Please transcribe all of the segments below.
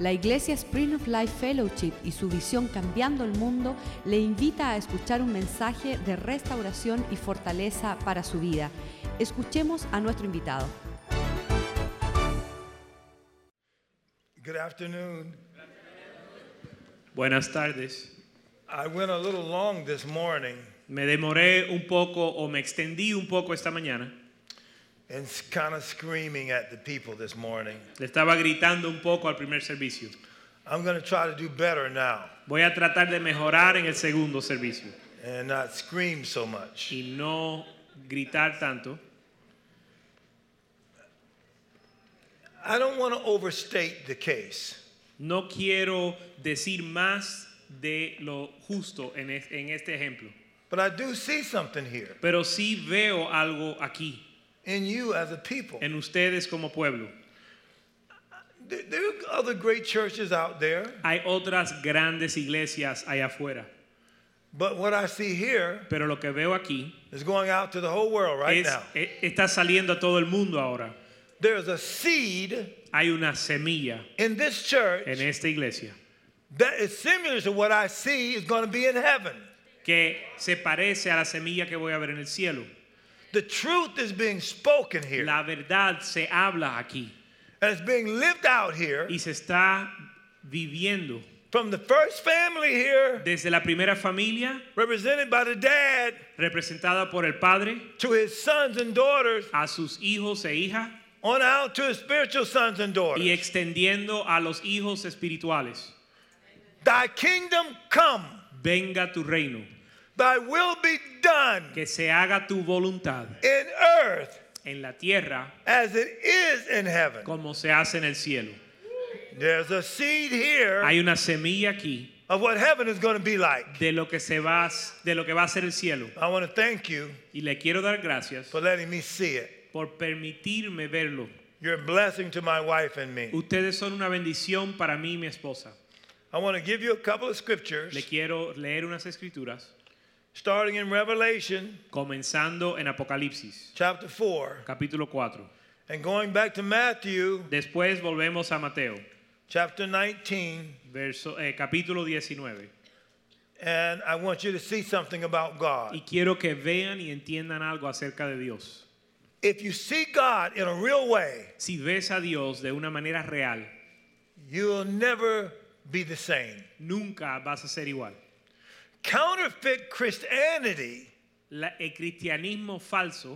La Iglesia Spring of Life Fellowship y su visión Cambiando el Mundo le invita a escuchar un mensaje de restauración y fortaleza para su vida. Escuchemos a nuestro invitado. Good afternoon. Buenas tardes. I went a little long this morning Me demoré un poco o me extendí un poco esta mañana. and kind of screaming at the people this morning. Le estaba gritando un poco al primer servicio. I'm going to try to do better now Voy a tratar de mejorar en el segundo servicio and not scream so much. y no gritar tanto. I don't want to overstate the case. No quiero decir más de lo justo en este ejemplo, But I do see something here pero sí veo algo aquí in you as a people. en ustedes como pueblo. There are other great churches out there, Hay otras grandes iglesias allá afuera, but what I see here pero lo que veo aquí is going out to the whole world right now. está saliendo a todo el mundo ahora. There's a seed Hay una semilla in this church en esta iglesia that is similar to what I see is going to be in heaven. que se parece a la semilla que voy a ver en el cielo. The truth is being spoken here, La verdad se habla aquí and it's being lived out here y se está viviendo from the first family here, desde la primera familia, represented by the dad, representada por el padre, to his sons and daughters, a sus hijos e hijas, on out to his spiritual sons and daughters. y extendiendo a los hijos espirituales. Thy kingdom come, Venga tu reino, thy will be done que se haga tu voluntad in earth en la tierra as it is in heaven. como se hace en el cielo. There's a seed here Hay una semilla aquí of what heaven is going to be like. de lo que va a ser el cielo. I want to thank you Y le quiero dar gracias for letting me see it. por permitirme verlo. You're a blessing to my wife and me. Ustedes son una bendición para mí y mi esposa. I want to give you a couple of scriptures, Le quiero leer unas escrituras, starting in Revelation comenzando en Apocalipsis, chapter 4, capítulo 4. and going back to Matthew Después volvemos a Mateo, chapter 19, capítulo 19. and I want you to see something about God. Y quiero que vean y entiendan algo acerca de Dios. If you see God in a real way, Si ves a Dios de una manera real, you'll never be the same. nunca vas a ser igual. Counterfeit Christianity El cristianismo falso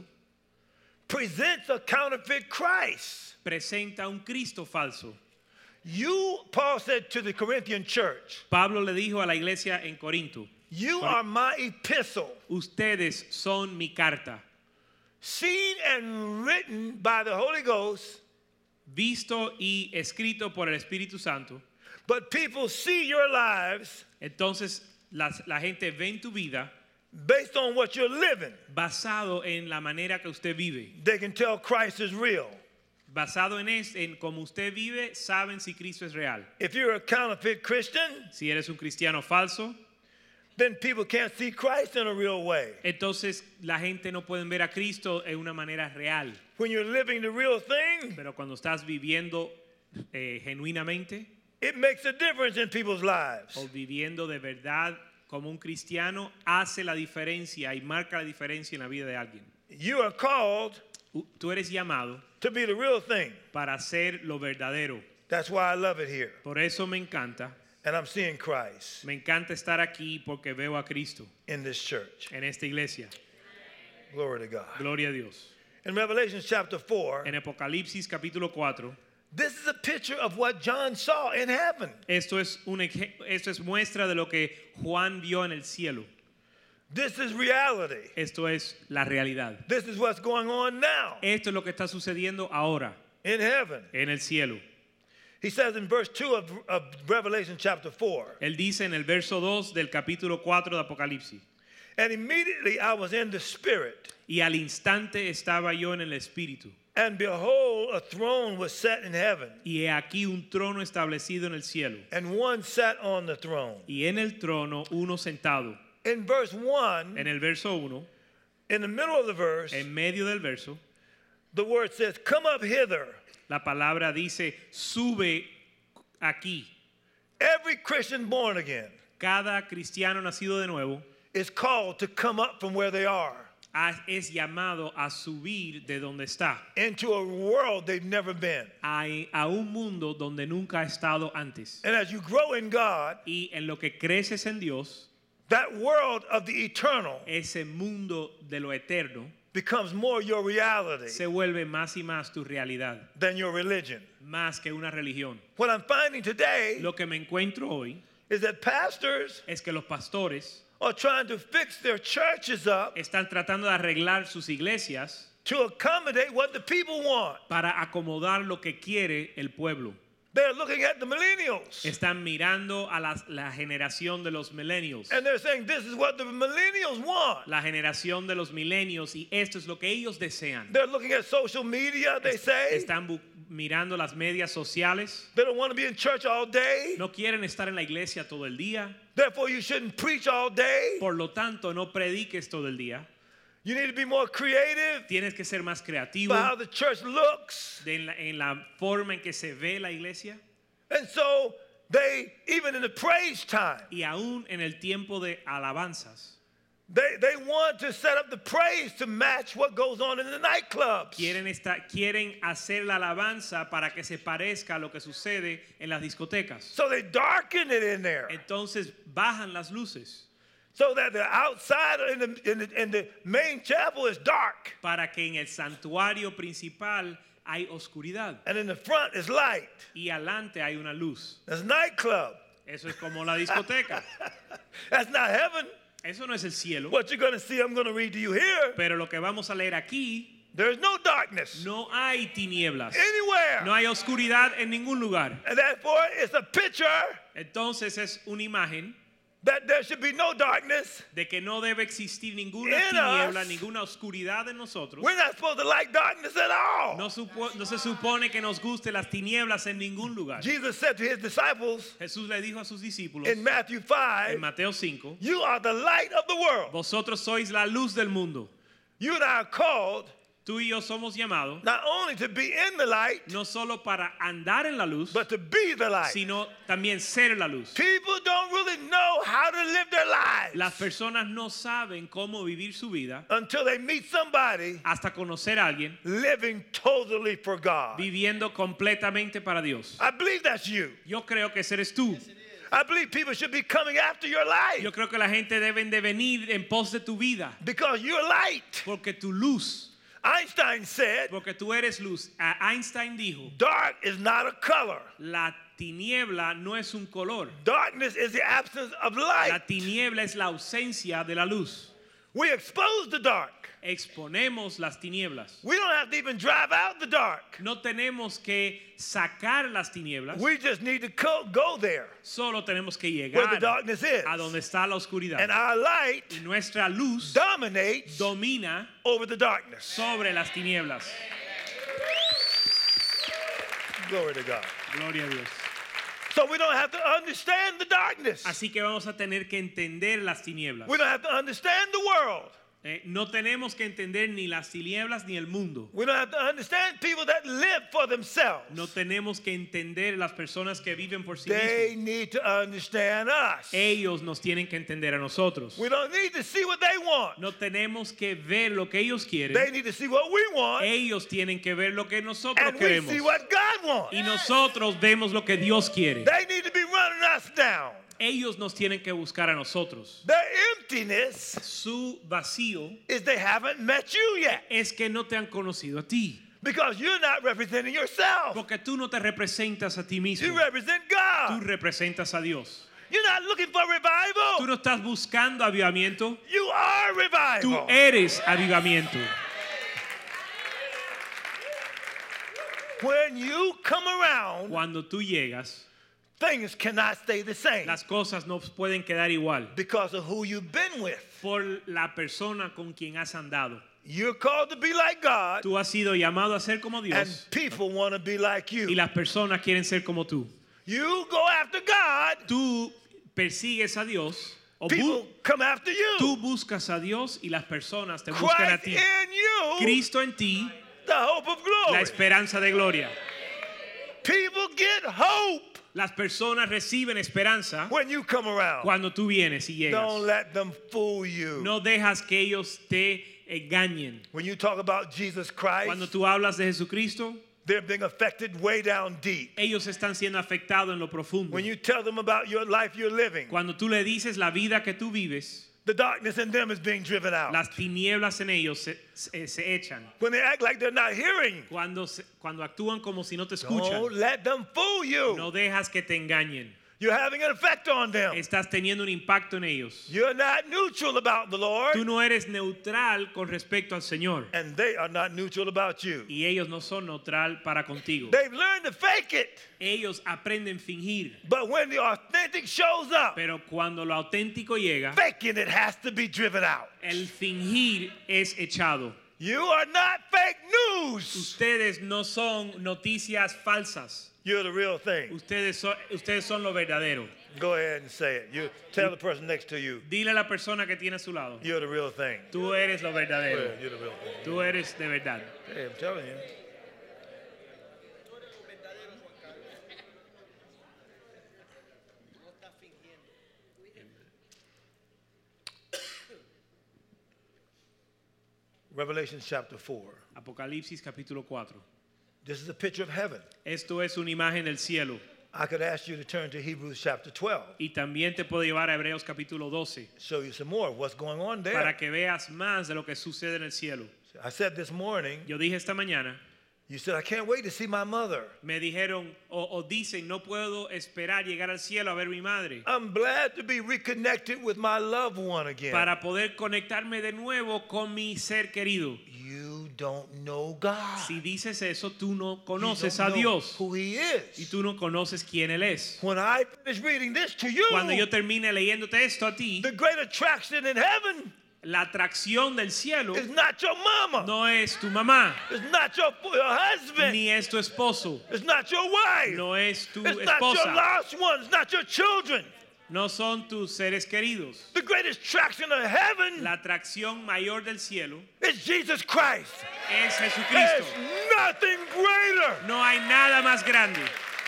presents a counterfeit Christ. presenta un Cristo falso. Paul said to the Corinthian church, Pablo le dijo a la iglesia en Corinto, you are my epistle, ustedes son mi carta, seen and written by the Holy Ghost, visto y escrito por el Espíritu Santo. but people see your lives Entonces la gente ve en tu vida based on what you're living. basado en la manera que usted vive. They can tell Christ is real. Basado en cómo usted vive, saben si Cristo es real. If you're a counterfeit Christian, Si eres un cristiano falso, then people can't see Christ in a real way. entonces la gente no puede ver a Cristo en una manera real. When you're living the real thing, Pero cuando estás viviendo genuinamente it makes a difference in people's lives. o viviendo de verdad como un cristiano, hace la diferencia y marca la diferencia en la vida de alguien. You are called Tú eres llamado to be the real thing. para hacer lo verdadero. That's why I love it here. Por eso me encanta. And I'm seeing Christ Me encanta estar aquí porque veo a Cristo in this church. en esta iglesia. Glory to God. Gloria a Dios. In Revelation chapter 4, En Apocalipsis capítulo 4, this is a picture of what John saw in heaven. esto es muestra de lo que Juan vio en el cielo. This is reality. Esto es la realidad. This is what's going on now Esto es lo que está sucediendo ahora in heaven. en el cielo. He says in verse 2 of Revelation chapter 4, Él dice en el verso 2 del capítulo 4 de Apocalipsis, and immediately I was in the Spirit, y al instante estaba yo en el Espíritu, and behold, a throne was set in heaven, y he aquí un trono establecido en el cielo, and one sat on the throne. y en el trono uno sentado. In verse 1, En el verso 1, in the middle of the verse, en medio del verso, the word says, come up hither. la palabra dice, sube aquí, every Christian born again cada cristiano nacido de nuevo is called to come up from where they are es llamado a subir de donde está into a world they've never been. a un mundo donde nunca ha estado antes. And as you grow in God, Y en lo que creces en Dios, that world of the eternal ese mundo de lo eterno becomes more your reality se vuelve más y más tu realidad, than your religion. más que una religión. What I'm finding today Lo que me encuentro hoy is that pastors es que los pastores are trying to fix their churches up están tratando de arreglar sus iglesias to accommodate what the people want. para acomodar lo que quiere el pueblo. They're looking at the millennials Están mirando a la generación de los millennials, and they're saying this is what the millennials want. la generación de los milenios, y esto es lo que ellos desean. They're looking at social media, they say. Están mirando las medias sociales. They don't want to be in church all day. No quieren estar en la iglesia todo el día. Therefore, you shouldn't preach all day. Por lo tanto, no prediques todo el día. You need to be more creative Tienes que ser más creativo about how the church looks. en la forma en que se ve la iglesia. And so they, even in the praise time, Y aún en el tiempo de alabanzas, they want to set up the praise to match what goes on in the nightclubs. quieren hacer la alabanza para que se parezca a lo que sucede en las discotecas. So they darken it in there Entonces bajan las luces so that the outside in the main chapel is dark para que en el santuario principal hay oscuridad and in the front is light. y adelante hay una luz. That's nightclub. Eso es como la discoteca. That's not heaven. Eso no es el cielo. What you're going to see, I'm going to read to you here. Pero lo que vamos a leer aquí, There's no darkness no hay tinieblas. anywhere. No hay oscuridad en ningún lugar. And therefore, it's a picture Entonces es una imagen that there should be no darkness. de que no debe existir ninguna In tiniebla, us. ninguna oscuridad en nosotros. We're not supposed to like darkness at all. No se supone que nos guste las tinieblas en ningún lugar. Jesus said to his disciples Jesús le dijo a sus discípulos in Matthew en 5, Mateo 5, you are the light of the world. vosotros sois la luz del mundo. You and I are called Tú y yo somos llamados not only to be in the light, no solo para andar en la luz, but to be the light. sino también ser la luz. People don't really know how to live their lives Las personas no saben cómo vivir su vida until they meet somebody hasta conocer a alguien living totally for God. viviendo completamente para Dios. I believe that's you. Yo creo que ese eres tú. I believe people should be coming after your life Yo creo que la gente deben de venir en pos de tu vida, because you're light. porque tu luz, Einstein said, porque tú eres luz. Einstein dijo, dark is not a color. la tiniebla no es un color. Darkness is the absence of La light. tiniebla es la ausencia de la luz. We expose the dark. Exponemos las tinieblas. We don't have to even drive out the dark. No tenemos que sacar las tinieblas, We just need to go there solo tenemos que where the llegar darkness is. a donde está la oscuridad. And our light Y nuestra luz dominates domina over the darkness. sobre las tinieblas. Glory to God. Gloria a Dios. So we don't have to understand the darkness. Así que vamos a tener que entender las tinieblas. We don't have to understand the world. No tenemos que entender ni las tinieblas ni el mundo. We don't have to understand people that live for themselves. No tenemos que entender las personas que viven por sí They mismos. need to understand us. Ellos nos tienen que entender a nosotros. We don't need to see what they want. No tenemos que ver lo que ellos They quieren. need to see what we want. Ellos tienen que ver lo que nosotros And we queremos. see what God wants. Y nosotros vemos lo que Dios quiere. They need to be running us down. Ellos nos tienen que buscar a nosotros. Their emptiness Su vacío is they haven't met you yet. es que no te han conocido a ti. Because you're not representing yourself. Porque tú no te representas a ti You mismo. represent Tú God. representas a Dios. You're not looking for Tú revival. no estás buscando avivamiento. You are Tú revival. eres avivamiento. When you come around, Cuando tú llegas, things cannot stay the same las cosas no pueden quedar igual because of who you've been with. por la persona con quien has andado. You're called to be like God, Tú has sido llamado a ser como and Dios people want to be like y you. las personas quieren ser como tú. You go after God, Tú persigues a Dios o people come after tú you. buscas a Dios y las personas te buscan a Christ ti. in you, Cristo en ti, the hope of la glory. esperanza de gloria. People get hope Las personas reciben esperanza when you come around. cuando tú vienes y llegas. Don't let them fool you. No dejas que ellos te engañen. When you talk about Jesus Christ, Cuando tú hablas de Jesucristo, they're being affected way down deep. ellos están siendo afectados en lo profundo. When you tell them about your life you're living, Cuando tú le dices la vida que tú vives, the darkness in them is being driven out. las tinieblas en ellos se echan. When they act like they're not hearing, Cuando actúan como si no te escuchan, don't let them fool you. no dejas que te engañen. You're having an effect on them. Estás teniendo un impacto en ellos. You're not neutral about the Lord, Tú no eres neutral con respecto al Señor. and they are not neutral about you. Y ellos no son neutral para contigo. They've learned to fake it, Ellos aprenden a fingir. but when the authentic shows up, Pero cuando lo auténtico llega, faking it has to be driven out. el fingir es echado. You are not fake news. Ustedes no son noticias falsas. You're the real thing. Ustedes son lo verdadero. Go ahead and say it. You tell the person next to you, Dile a la persona que tiene a su lado. you're the real thing. Tú eres lo Go verdadero. ahead, you're the real thing. Tú eres de verdad. Hey, I'm telling you. Revelation chapter 4. Apocalipsis capítulo 4. This is a picture of heaven. Esto es una imagen del cielo. I could ask you to turn to Hebrews chapter 12. Y también te puedo llevar a Hebreos capítulo 12 Show you some more of what's going on there. para que veas más de lo que sucede en el cielo. I said this morning, Yo dije esta mañana, you said, I can't wait to see my mother. me dijeron o dicen, no puedo esperar llegar al cielo a ver a mi madre I'm glad to be reconnected with my loved one again. para poder conectarme de nuevo con mi ser querido. You don't know God. Si dices eso, tú no You conoces don't a know Dios who he y is. tú no conoces quién Él es. When I finish reading this to you, Cuando yo termine leyéndote esto a ti, the great attraction in heaven la atracción del cielo is not your mama. no es tu mamá, It's not your husband. ni es tu esposo, It's not your wife. no es tu It's not your esposa, lost ones, not your children. no son tus seres queridos. The greatest attraction of heaven La atracción mayor del cielo is Jesus Christ. es There's Jesucristo. nothing greater. No hay nada más grande.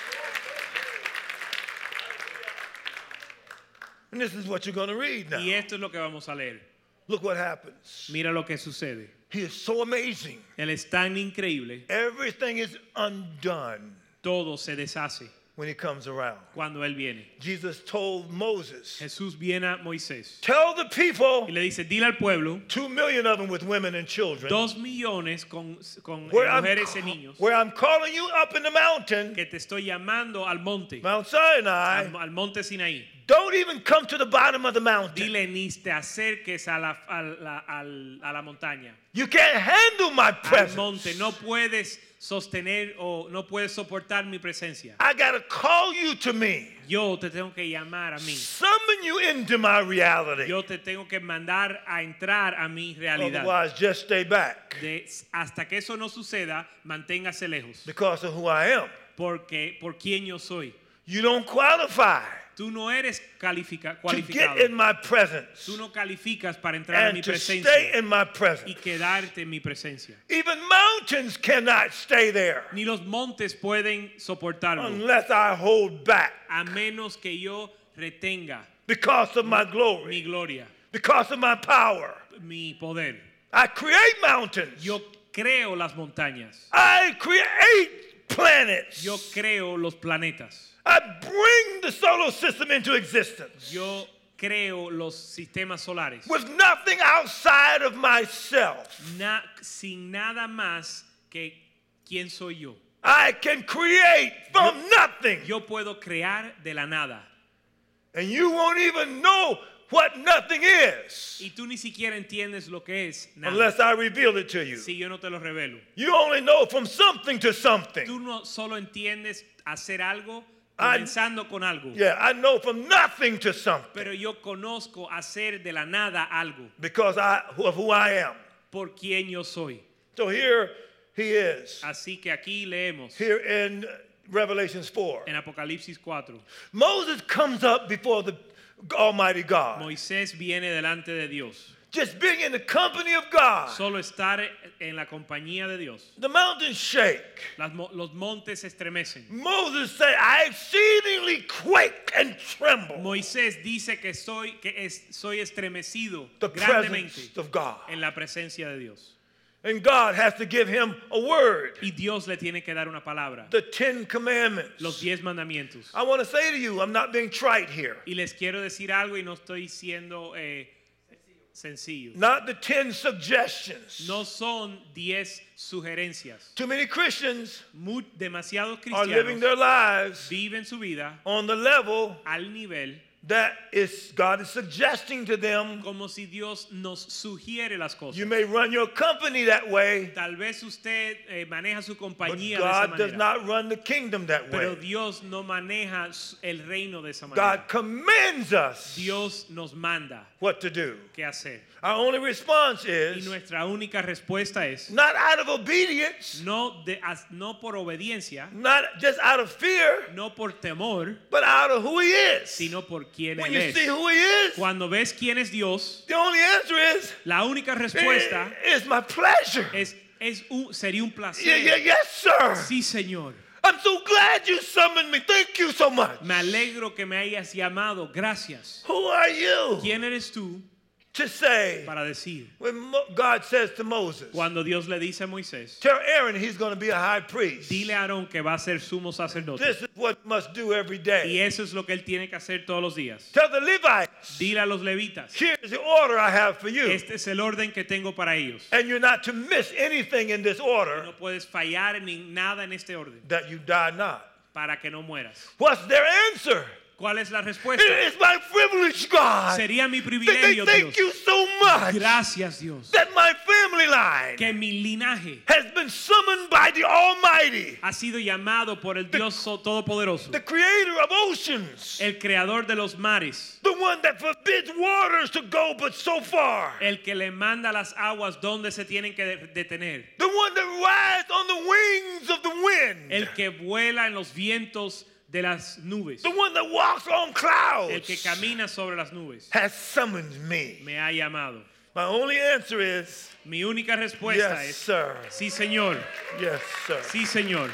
And this is what you're going to read now. Y esto es lo que vamos a leer. Look what happens. Mira lo que sucede. He is so amazing. Él es tan increíble, Everything is undone todo se deshace when he comes around. cuando Él viene. Jesus told Moses, Jesús viene a Moisés tell the people, y le dice, dile al pueblo, 2 million of them with women and children, 2 millones con where mujeres y niños, I'm calling you up in the mountain, que te estoy llamando al monte, Mount Sinai. al monte Sinaí. Don't even come to the bottom of the mountain. Dile, ni te acerques a la montaña, You can't handle my al presence. monte. No puedes sostener o no puedes soportar mi presencia. I got to call you to me. Yo te tengo que llamar a mí. Summon you into my reality. Yo te tengo que mandar a entrar a mi realidad. Otherwise, just stay back Hasta que eso no suceda, manténgase lejos. because of who I am. Porque por quién yo soy. You don't qualify Tú no eres to cualificado. get in my presence Tú no calificas para entrar a mi and to presencia stay in my y presence. quedarte en mi presencia. Even mountains cannot stay there Ni los montes pueden soportarlo, unless I hold back a menos que yo retenga because of my mi glory, gloria, because of my power. mi poder. I create mountains. Yo creo las montañas. I create planets. Yo creo los planetas. I bring the solar system into existence Yo creo los sistemas solares. with nothing outside of myself. Sin nada más que quién soy yo. I can create from nothing. Yo puedo crear de la nada. And you won't even know what nothing is Y tú ni siquiera entiendes lo que es nada. unless I reveal it to you. Si yo no te lo revelo. You only know from something to something. Tú no solo entiendes hacer algo I- comenzando con algo. Yeah, I know from nothing to something Pero yo conozco hacer de la nada algo. because of who I am. Por quién yo soy. So here he is, Así que aquí leemos here in Revelations 4. en Apocalipsis 4. Moses comes up before the Almighty God Moisés viene delante de Dios Just being in the company of God, Solo estar en la compañía de Dios. the mountains shake. Los montes se estremecen. Moses said, I exceedingly quake and tremble. Moisés dice que soy estremecido The grandemente presence of God. en la presencia de Dios. And God has to give him a word. Y Dios le tiene que dar una palabra. The 10 Commandments. Los 10 mandamientos. I want to say to you, I'm not being trite here. Y les quiero decir algo y no estoy siendo sencillo. Not the 10 suggestions. No son 10 sugerencias. Too many Christians Demasiados are living cristianos their lives viven su vida on the level al nivel that is God is suggesting to them. como si Dios nos sugiere las cosas. You may run your company that way, Tal vez usted maneja su but compañía de esa God does manera, not run the kingdom that pero way. Dios no maneja el reino de esa manera. God commands us Dios nos manda what to do. qué hacer. Our only response Y is nuestra única respuesta es not out of obedience, no por obediencia, not just out of fear, no por temor, but out of who He is. sino por quién When Él you see es. who He is, Cuando ves quién es Dios, the only answer is, la única respuesta it's my pleasure. sería un placer. Yes, sir. Sí, Señor. I'm so glad you summoned me. Thank you so much. Me alegro que me hayas llamado. Gracias. Who are you ¿Quién eres tú to say, para decir? when God says to Moses, Cuando Dios le dice a Moisés, tell Aaron he's going to be a high priest. dile a Aarón que va a ser sumo sacerdote. This is what he must do every Y day. eso es lo que él tiene que hacer todos los días. Tell the Levites, Dile a los levitas, here's the order I have for you. este es el orden que tengo para ellos. And you're not to miss anything in this order, No puedes fallar en nada en este orden that you die not. para que no mueras. What's their answer? ¿Cuál es la respuesta? It's my privilege, God. Sería mi They privilegio, thank Dios. you so much Gracias, Dios. that my family line Que mi linaje has been summoned by the Almighty, ha sido llamado por el Dios Todopoderoso, the creator of oceans, el creador de los mares, the one that forbids waters to go but so far, el que le manda las aguas donde se tienen que detener, the one that rides on the wings of the wind, el que vuela en los vientos de las nubes, the one that walks on el clouds, que camina sobre las nubes, has summoned me. me ha llamado. My only answer is, Mi única respuesta yes, es, sir. sí, Señor, Yes, sir. sí, Señor.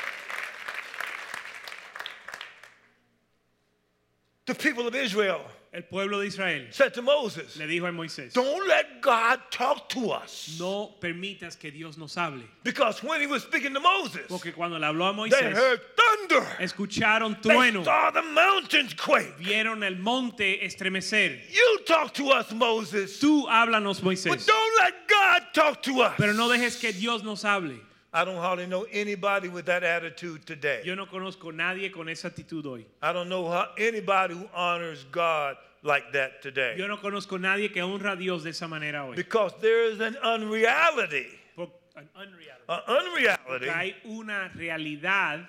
The people of Israel El pueblo de Israel said to Moses, le dijo a Moisés, don't let God talk to us. no permitas que Dios nos hable. Because when he was speaking to Moses, Porque cuando le habló a they Moisés, heard thunder. escucharon They trueno, saw the mountains quake. vieron el monte estremecer. You talk to us, Moses. Tú háblanos, But Moisés, don't let God talk to us. pero no dejes que Dios nos hable. I don't hardly know anybody with that attitude today. Yo no conozco nadie con esa actitud hoy. I don't know anybody who honors God like that today. Yo no conozco nadie que honra a Dios de esa manera hoy. Because there is an unreality. An unreality. An Porque unreality hay una realidad,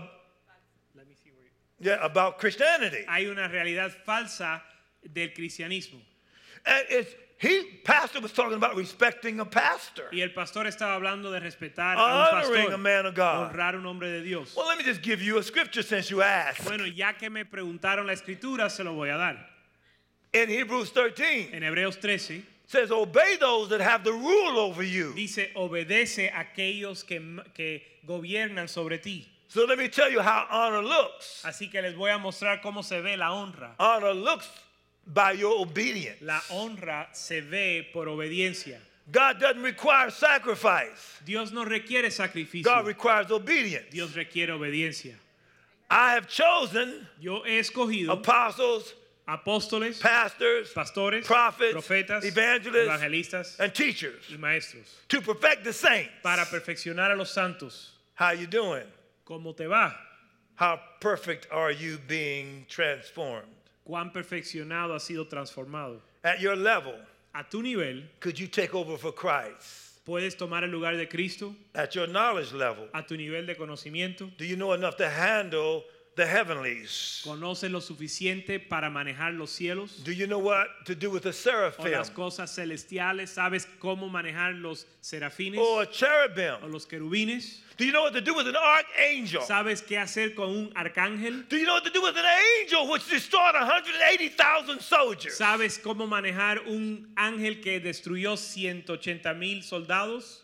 about Christianity. hay una realidad falsa del cristianismo. And pastor was talking about respecting a pastor. Y el pastor estaba hablando de respetar a un Honoring pastor, a man of God. honrar a un hombre de Dios. Well, let me just give you a scripture since you asked. Bueno, ya que me preguntaron la escritura, se lo voy a dar. In Hebrews 13, En Hebreos 13 says, obey those that have the rule over you. dice, obedece a aquellos que gobiernan sobre ti. So let me tell you how honor looks. Así que les voy a mostrar cómo se ve la honra. Honor looks by your obedience. La honra se ve por obediencia. God doesn't require sacrifice. Dios no requiere God sacrificio. requires obedience. Dios requiere obediencia. I have chosen Yo he escogido apostles, apóstoles, pastors, pastores, prophets, profetas, evangelists, evangelistas and teachers y maestros to perfect the saints. para perfeccionar a los santos. How you doing? ¿Cómo te va? How perfect are you being transformed? ¿Cuán perfeccionado has sido transformado? At your level, A tu nivel, could you take over for Christ? ¿puedes tomar el lugar de Cristo? At your knowledge level, A tu nivel de conocimiento, do you know enough to handle the heavenlies? ¿Conoces lo suficiente para manejar los cielos Do you know what to do with a o seraphim las cosas celestiales? ¿Sabes cómo manejar los serafines or a o cherubim? los querubines? Do you know what to do with an archangel? ¿Sabes qué hacer con un arcángel? Do you know what to do with an angel which destroyed 180,000 soldiers? ¿Sabes cómo manejar un ángel que destruyó 180,000 soldados?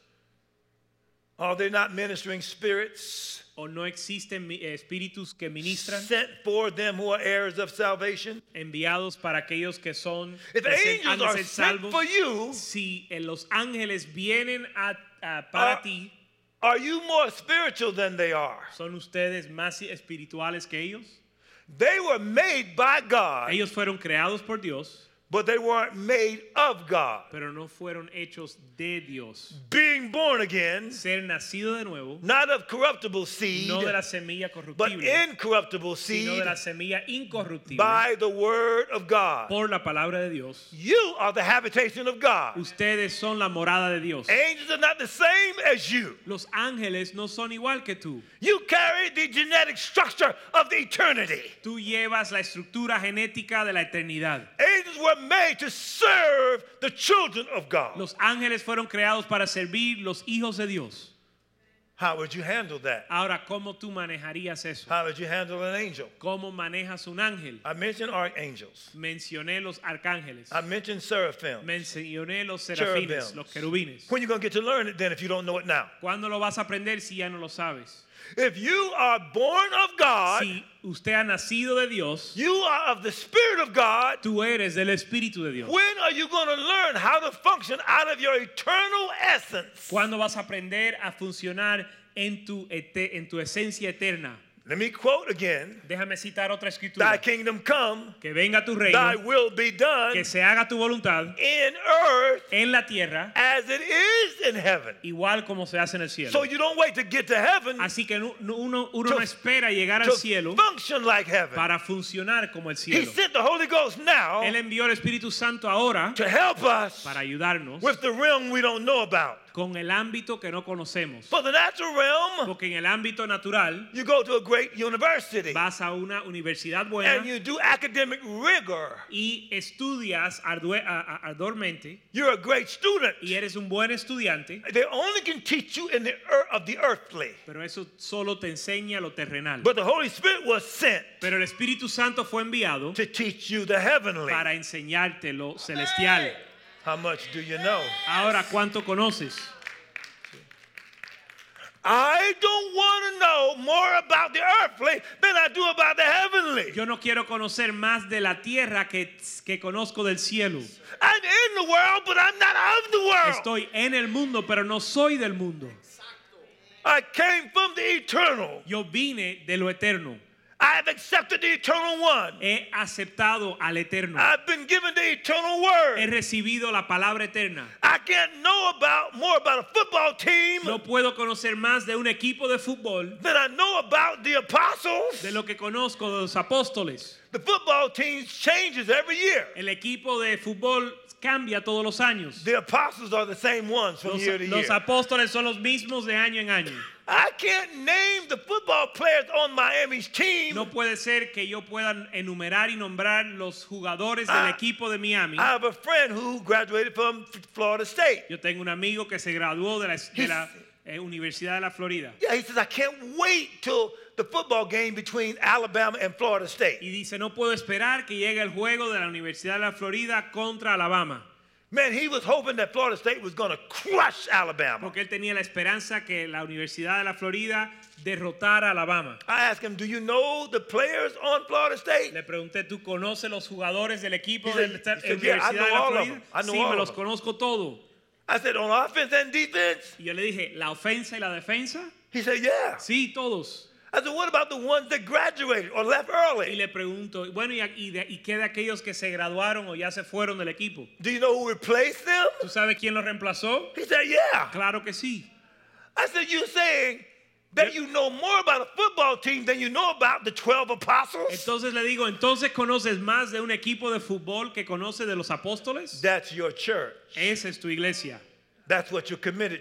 Are they not ministering spirits ¿O no existen espíritus que ministran sent for them who are heirs of salvation? enviados para aquellos que son If han angels de are ser sent salvos? for you, Si los ángeles vienen para ti, are you more spiritual than they are? ¿son ustedes más espirituales que ellos? They were made by God, Ellos fueron creados por Dios, but they weren't made of God. pero no fueron hechos de Dios. Being born again, Ser nacido de nuevo, not of corruptible seed, no de la semilla but corruptible, incorruptible sino de seed la semilla incorruptible, by the word of God. por la palabra de Dios. You are the habitation of God. Ustedes son la morada de Dios. Angels are not the same as you. Los ángeles no son igual que tú. You carry the genetic structure of the eternity. Tú llevas la estructura genética de la eternidad. Angels were made to serve the children of God. Los ángeles fueron creados para servir los hijos de Dios. How would you handle that? Ahora, ¿cómo tú manejarías eso? How would you handle an angel? ¿Cómo manejas un ángel? I mentioned archangels. Mencioné los arcángeles. I mentioned seraphim. Mencioné los serafines, Cherubims. los querubines. When are you going to get to learn it then if you don't know it now? ¿Cuándo lo vas a aprender si ya no lo sabes? If you are born of God, Si usted ha nacido de Dios, you are of the Spirit of God, tú eres del Espíritu de Dios. when are you going to learn how to function out of your eternal essence? ¿Cuándo vas a aprender a funcionar en tu esencia eterna? Let me quote again. Déjame citar otra Thy escritura. kingdom come, Que venga tu thy reino, will be done que se haga tu voluntad in earth en la tierra, as it is in heaven. igual como se hace en el cielo. So you don't wait to get to heaven Así que uno to- no espera llegar al to cielo function like heaven. para funcionar como el He cielo. sent the Holy Ghost now Él envió el Espíritu Santo ahora to help us para ayudarnos with the realm we don't know about. con el ámbito que no conocemos. For the natural realm, Porque en el ámbito natural you go to a great university vas a una universidad and buena you do academic rigor. y estudias arduamente You're a great student. y eres un buen estudiante, They only can teach you in the of the earthly. pero eso solo te enseña lo terrenal. But the Holy Spirit was sent Pero el Espíritu Santo fue enviado to teach you the heavenly. para enseñarte lo celestial. How much do you know? Ahora, ¿cuánto conoces? I don't want to know more about the earthly than I do about the heavenly. Yo no quiero conocer más de la tierra que conozco del cielo. I'm in the world, but I'm not of the world. Estoy en el mundo, pero no soy del mundo. I came from the eternal. Yo vine de lo eterno. I have accepted the eternal one. He aceptado al eterno. I've been given the eternal He word. recibido la palabra eterna. I can't know more about a football team No puedo conocer más de un equipo de fútbol than I know about the apostles. de lo que conozco de los apóstoles. The football team changes every year. El equipo de fútbol cambia todos los años. The apostles are the same ones from year to year. Los apóstoles son los mismos de año en año. I can't name the football players on Miami's team. No puede ser que yo pueda enumerar y nombrar los jugadores del equipo de Miami. I have a friend who graduated from Florida State. Yo tengo un amigo que se graduó de la Universidad de la Florida. Yeah, he says, I can't wait till the football game between Alabama and Florida State. Y dice, no puedo esperar que llegue el juego de la Universidad de la Florida contra Alabama. Man, he was hoping that Florida State was going to crush Alabama. Porque él tenía la esperanza que la Universidad de la Florida derrotara a Alabama. I asked him, do you know the players on Florida State? Le pregunté, ¿tú conoces los jugadores del equipo He de said, la yeah, I Universidad know de la all of Florida? them. I know Sí, all me of los them. conozco todo. I said, on offense and defense? Y yo le dije, ¿la ofensa y la defensa? He said, yeah. Sí, todos. I said, what about the ones that graduated or left Y early? le pregunto, bueno, ¿y qué de aquellos que se graduaron o ya se fueron del equipo? Do you know who replaced them? ¿Tú sabes quién los reemplazó? He said, yeah. Claro que sí. I said, you're saying that you know more about a football team than you know about the 12 apostles? Entonces le digo, ¿entonces conoces más de un equipo de fútbol que conoces de los apóstoles? That's your church. Esa es tu iglesia. That's what you're committed to.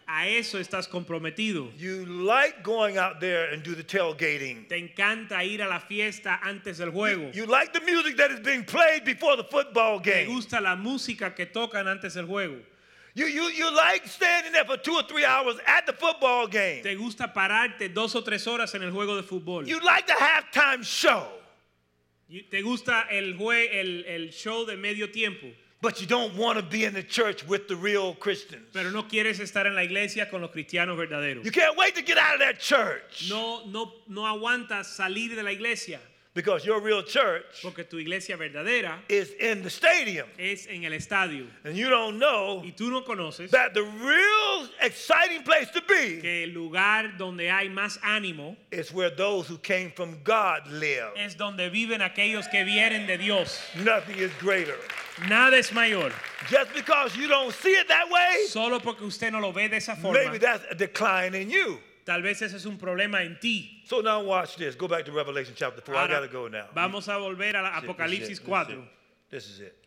A eso estás comprometido. You like going out there and do the tailgating. Te encanta ir a la fiesta antes del juego. You like the music that is being played before the football Te game. gusta la música que tocan antes del juego. You like standing there for 2 or 3 hours at the football game. Te gusta pararte 2 o 3 horas en el juego de fútbol. You like the halftime show. Te gusta el show de medio tiempo. But you don't want to be in the church with the real Christians. Pero no quieres estar en la iglesia con los cristianos verdaderos. You can't wait to get out of that church. No aguantas salir de la iglesia. Because your real church Porque tu iglesia verdadera is in the stadium. es en el estadio. And you don't know Y tú no conoces that the real exciting place to be que el lugar donde hay más ánimo is where those who came from God live. es donde viven aquellos que vienen de Dios. Nothing is greater. Nada es mayor. Just because you don't see it that way, Solo porque usted no lo ve de esa forma. maybe that's a decline in you. Tal vez ese es un problema en ti. So now watch this. Go back to Revelation chapter 4. I got to go now. Vamos a volver a Apocalipsis 4. This is it.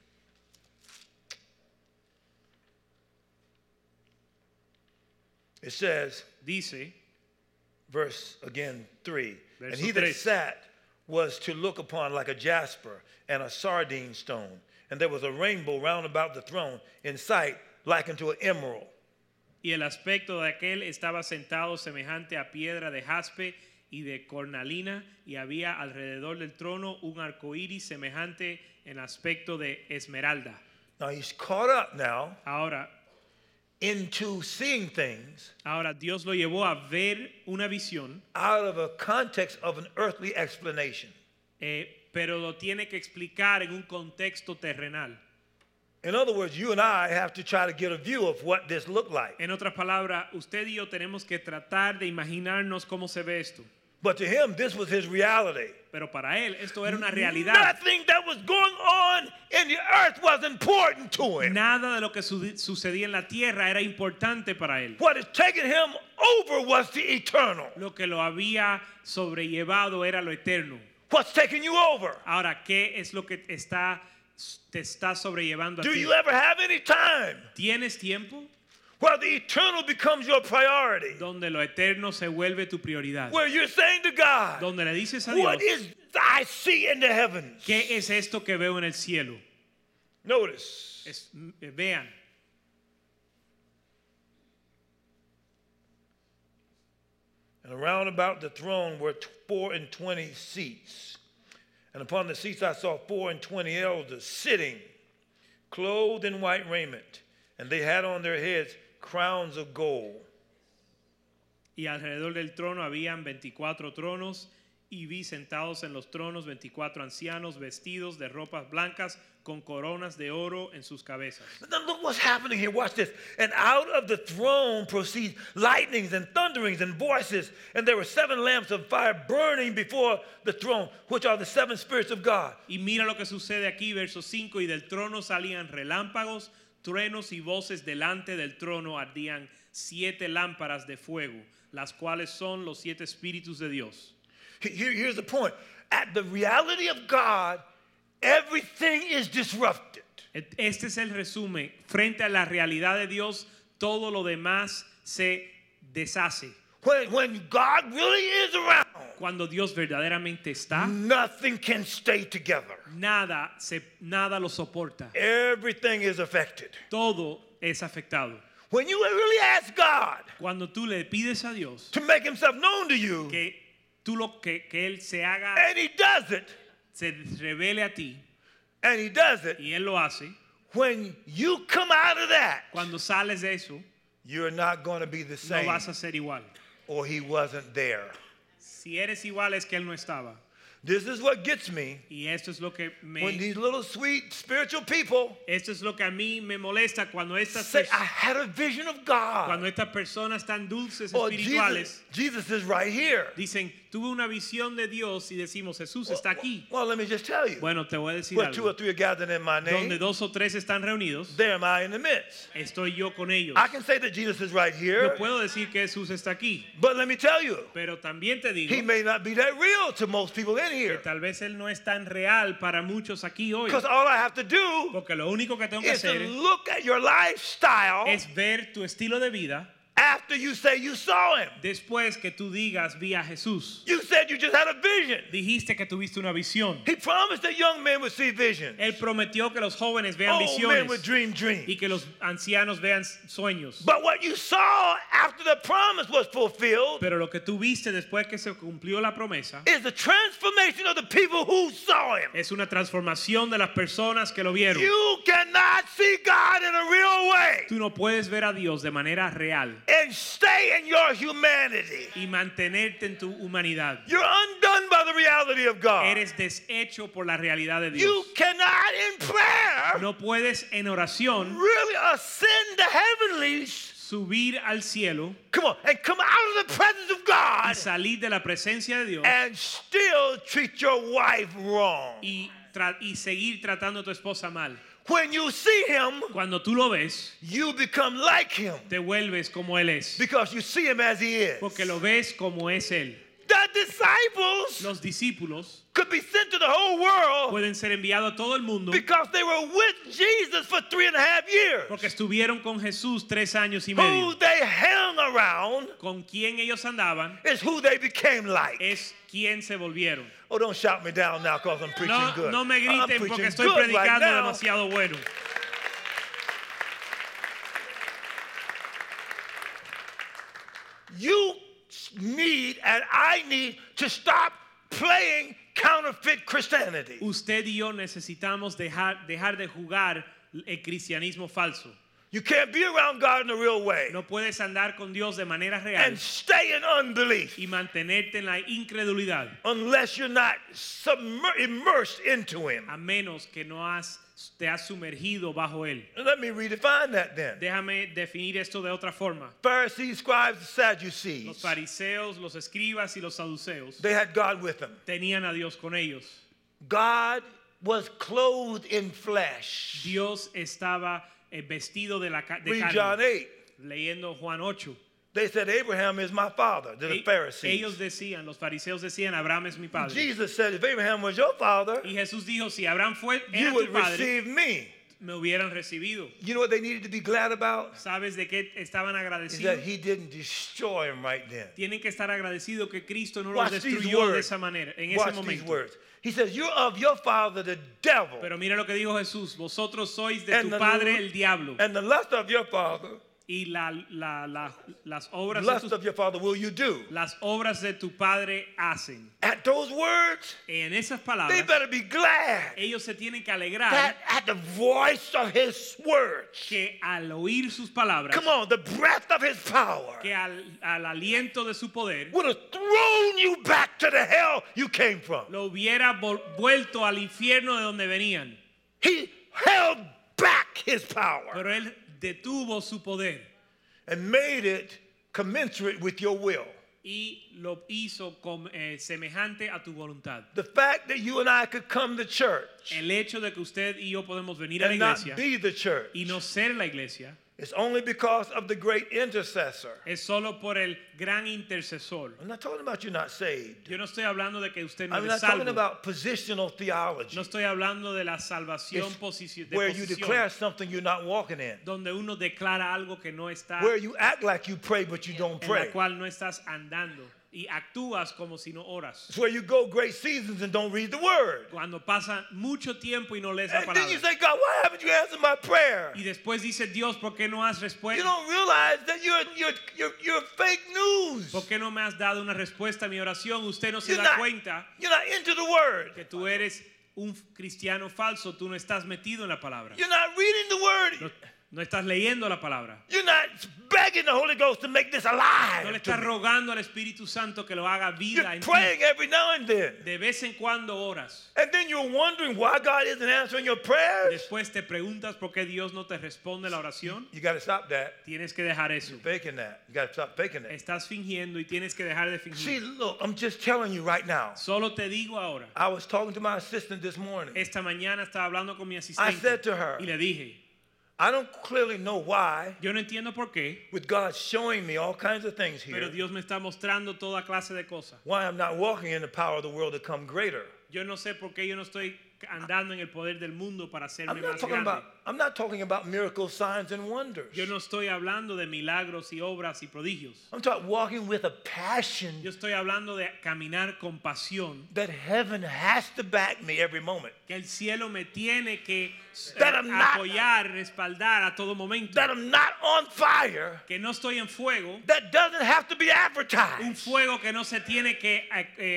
It says, Dice, verse again 3. And Verso he that 3. sat was to look upon like a jasper and a sardine stone. And there was a rainbow round about the throne in sight like unto an emerald. y el aspecto de aquel estaba sentado semejante a piedra de jaspe y de cornalina, y había alrededor del trono un arco iris semejante en aspecto de esmeralda. Now he's caught up now Ahora into seeing things Dios lo llevó a ver una visión, out of a context of an earthly explanation. pero lo tiene que explicar en un contexto terrenal. In other words, you and I have to try to get a view of what this looked like. En otras palabras, usted y yo tenemos que tratar de imaginarnos cómo se ve esto. But to him, this was his reality. Pero para él esto era una realidad. Nothing that was going on in the earth was important to him. Nada de lo que sucedía en la tierra era importante para él. What had taken him over was the eternal. Lo que lo había sobrellevado era lo eterno. What's taking you over? Ahora, ¿qué es lo que te está sobrellevando a Do ti? you ever have any time ¿Tienes tiempo where the eternal becomes your priority? donde lo eterno se vuelve tu prioridad? Where you're saying to God, Donde le dices a what Dios, is I see in the heavens? ¿qué es esto que veo en el cielo? Notice. Vean. And around about the throne were 24 seats. And upon the seats I saw 24 elders sitting, clothed in white raiment. And they had on their heads crowns of gold. Y alrededor del trono habían 24 tronos, y vi sentados en los tronos 24 ancianos vestidos de ropas blancas con coronas de oro en sus cabezas. Now look what's happening here. Watch this. And out of the throne proceed lightnings and thunderings and voices. And there were 7 lamps of fire burning before the throne, which are the 7 spirits of God. Y mira lo que sucede aquí, verso 5, y del trono salían relámpagos, truenos y voces. Delante del trono ardían 7 lámparas de fuego, las cuales son los 7 espíritus de Dios. Here's the point. At the reality of God, everything is disrupted. Este es el resumen. Frente a la realidad de Dios, todo lo demás se deshace. When God really is around, Cuando Dios verdaderamente está, nothing can stay together. nada lo soporta. Everything is affected. Todo es afectado. When you really ask God Cuando tú le pides a Dios to make himself known to you, que Él se haga, and he does it, se revele a ti, and he does it, y Él lo hace, when you come out of that, cuando sales de eso, you're not going to be the no same, vas a ser igual. or he wasn't there. Si eres igual es que Él no estaba. This is what gets me Y esto es lo que when these little sweet spiritual people esto es lo que a mí me molesta cuando say, I had a vision of God. cuando estas personas tan dulces Or espirituales Jesus is right here. dicen, tuve una visión de Dios, y decimos, Jesús está aquí. Well, let me just tell you. Bueno, te voy a decir Where 2 or algo. 3 are gathered in my Donde name, 2 o 3 están reunidos, there am I in the midst. estoy yo con ellos. I can say that Jesus is right Yo here, puedo decir que Jesús está aquí, but let me tell you, pero también te digo he may not be that real to most people in que here. tal vez Él no es tan real para muchos aquí hoy. Because all I have to do Porque lo único que tengo que is to hacer look at your lifestyle, es ver tu estilo de vida, after you say you saw him. Después que tú digas vi a Jesús. You said you just had a vision. Dijiste que tuviste una visión. He promised that young men would see visions. Él prometió que los jóvenes vean Old men would visiones dream dreams. y que los ancianos vean sueños. But what you saw after the promise was fulfilled Pero lo que tú viste después que se cumplió la promesa is the transformation of the people who saw him. es una transformación de las personas que lo vieron. You cannot see God in a real way Tú no puedes ver a Dios de manera real and stay in your humanity. y mantenerte en tu humanidad. You're undone by the reality of God. Eres deshecho por la realidad de You Dios. cannot in prayer No puedes en oración really ascend the heavenlies. subir al cielo Come on, and come out of the presence of y God salir de la presencia de Dios and still treat your wife wrong. y seguir tratando a tu esposa mal. When you see him, Cuando tú lo ves, you become like him te vuelves como Él es. because you see him as he is. Porque lo ves como es Él. The disciples Los discípulos could be sent to the whole world pueden ser enviados a todo el mundo because they were with Jesus for 3.5 years. porque estuvieron con Jesús 3 años y Who medio. they hung around Con quien ellos andaban is who they became like. es quien se volvieron. Oh, don't shout me down now because I'm preaching No, good. no me I'm griten preaching porque estoy good right predicando now. demasiado bueno. You need and I need to stop playing counterfeit Christianity. Usted y yo necesitamos dejar de jugar el cristianismo falso. You can't be around God in a real way No puedes andar con Dios de manera real and stay in unbelief y mantenerte en la incredulidad unless you're not immersed into Him. a menos que te has sumergido bajo Él. Let me redefine that then. Déjame definir esto de otra forma. Pharisees, scribes, Los Sadducees, fariseos, los escribas y los saduceos they had God with them. tenían a Dios con ellos. God was clothed in flesh. Dios estaba vestido de Read John carne. 8. Leyendo Juan 8. They said, Abraham is my father, to the Pharisees. Ellos decían, los fariseos decían, Abraham es mi padre. Jesus said, if Abraham was your father, Y Jesús dijo, si Abraham you era tu would padre, receive me. me hubieran recibido. You know what they needed to be glad about? ¿Sabes de qué estaban Is that agradecidos? he didn't destroy him right then. Tienen que estar agradecidos que Cristo no los Watch these destruyó de words. esa manera, en ese Watch these momento. words. He says, you're of your father, the devil, Pero mira lo que dijo Jesús, vosotros sois de And tu the padre el diablo and the lust of your father, y las obras lust of your father will you do. las obras de tu padre hacen. At those words, En esas they palabras, better be glad ellos se tienen que alegrar that at the voice of his words, que al oír sus palabras, come on, the breath of his power que al aliento de su poder, would have thrown you back to the hell you came from. lo hubiera vuelto al infierno de donde venían. He held back his power Pero él detuvo su poder and made it commensurate with your will. y lo hizo semejante a tu voluntad. The fact that you and I could come to church El hecho de que usted y yo podemos venir a la and not iglesia be the church y no ser la iglesia is only because of the great intercessor. es solo por el gran intercesor. I'm not talking about you not saved. Yo no estoy hablando de que usted no I'm es not talking salvo. about positional theology. No estoy hablando de la salvación It's de where you posición, declare something you're not walking in. donde uno declara algo que no está, Where you act like you pray but you don't en la pray. cual no estás andando y actúas como si no oras. It's where you go great seasons and don't read the word. Cuando pasa mucho tiempo y no lees la And then you palabra. say, God, why haven't you answered my prayer? Y después dice Dios, ¿por qué no has You respuesta? don't realize that you're fake news. ¿Por qué no me has dado una respuesta a mi oración? Usted no se You're da not, cuenta you're not into the word. que tú eres un cristiano falso, tú no estás metido en la palabra. You're not reading the word. No, no estás leyendo la palabra. You're not begging the Holy Ghost to make this No le alive. to estás me. rogando al Espíritu Santo que lo haga vida You're en ti. praying every now and then. De vez en cuando oras. And then you're wondering why God isn't answering your prayers. Después te preguntas por qué Dios no te responde la oración. You got to stop that. Tienes que dejar eso. You're faking that. You got to stop faking that. Estás fingiendo y tienes que dejar de See, fingir. look, I'm just telling you right now. Solo te digo ahora. I was talking to my assistant this morning. Esta mañana estaba hablando con mi I asistente said to her, y le dije, I don't clearly know why, yo no entiendo por qué, with God showing me all kinds of things pero here, Dios me está mostrando toda clase de cosas. why I'm not walking in the power of the world to come greater. Yo no sé por qué yo no estoy andando en el poder del mundo para hacerme más I'm not talking about miracles, signs, and wonders. Yo no estoy hablando de milagros y obras y prodigios. I'm talking walking with a passion Yo estoy hablando de caminar con pasión. that heaven has to back me every moment. Que el cielo me tiene que That I'm not- apoyar, respaldar a todo momento. That I'm not on fire. Que no estoy en fuego. That doesn't have to be Un advertised. fuego que no se tiene que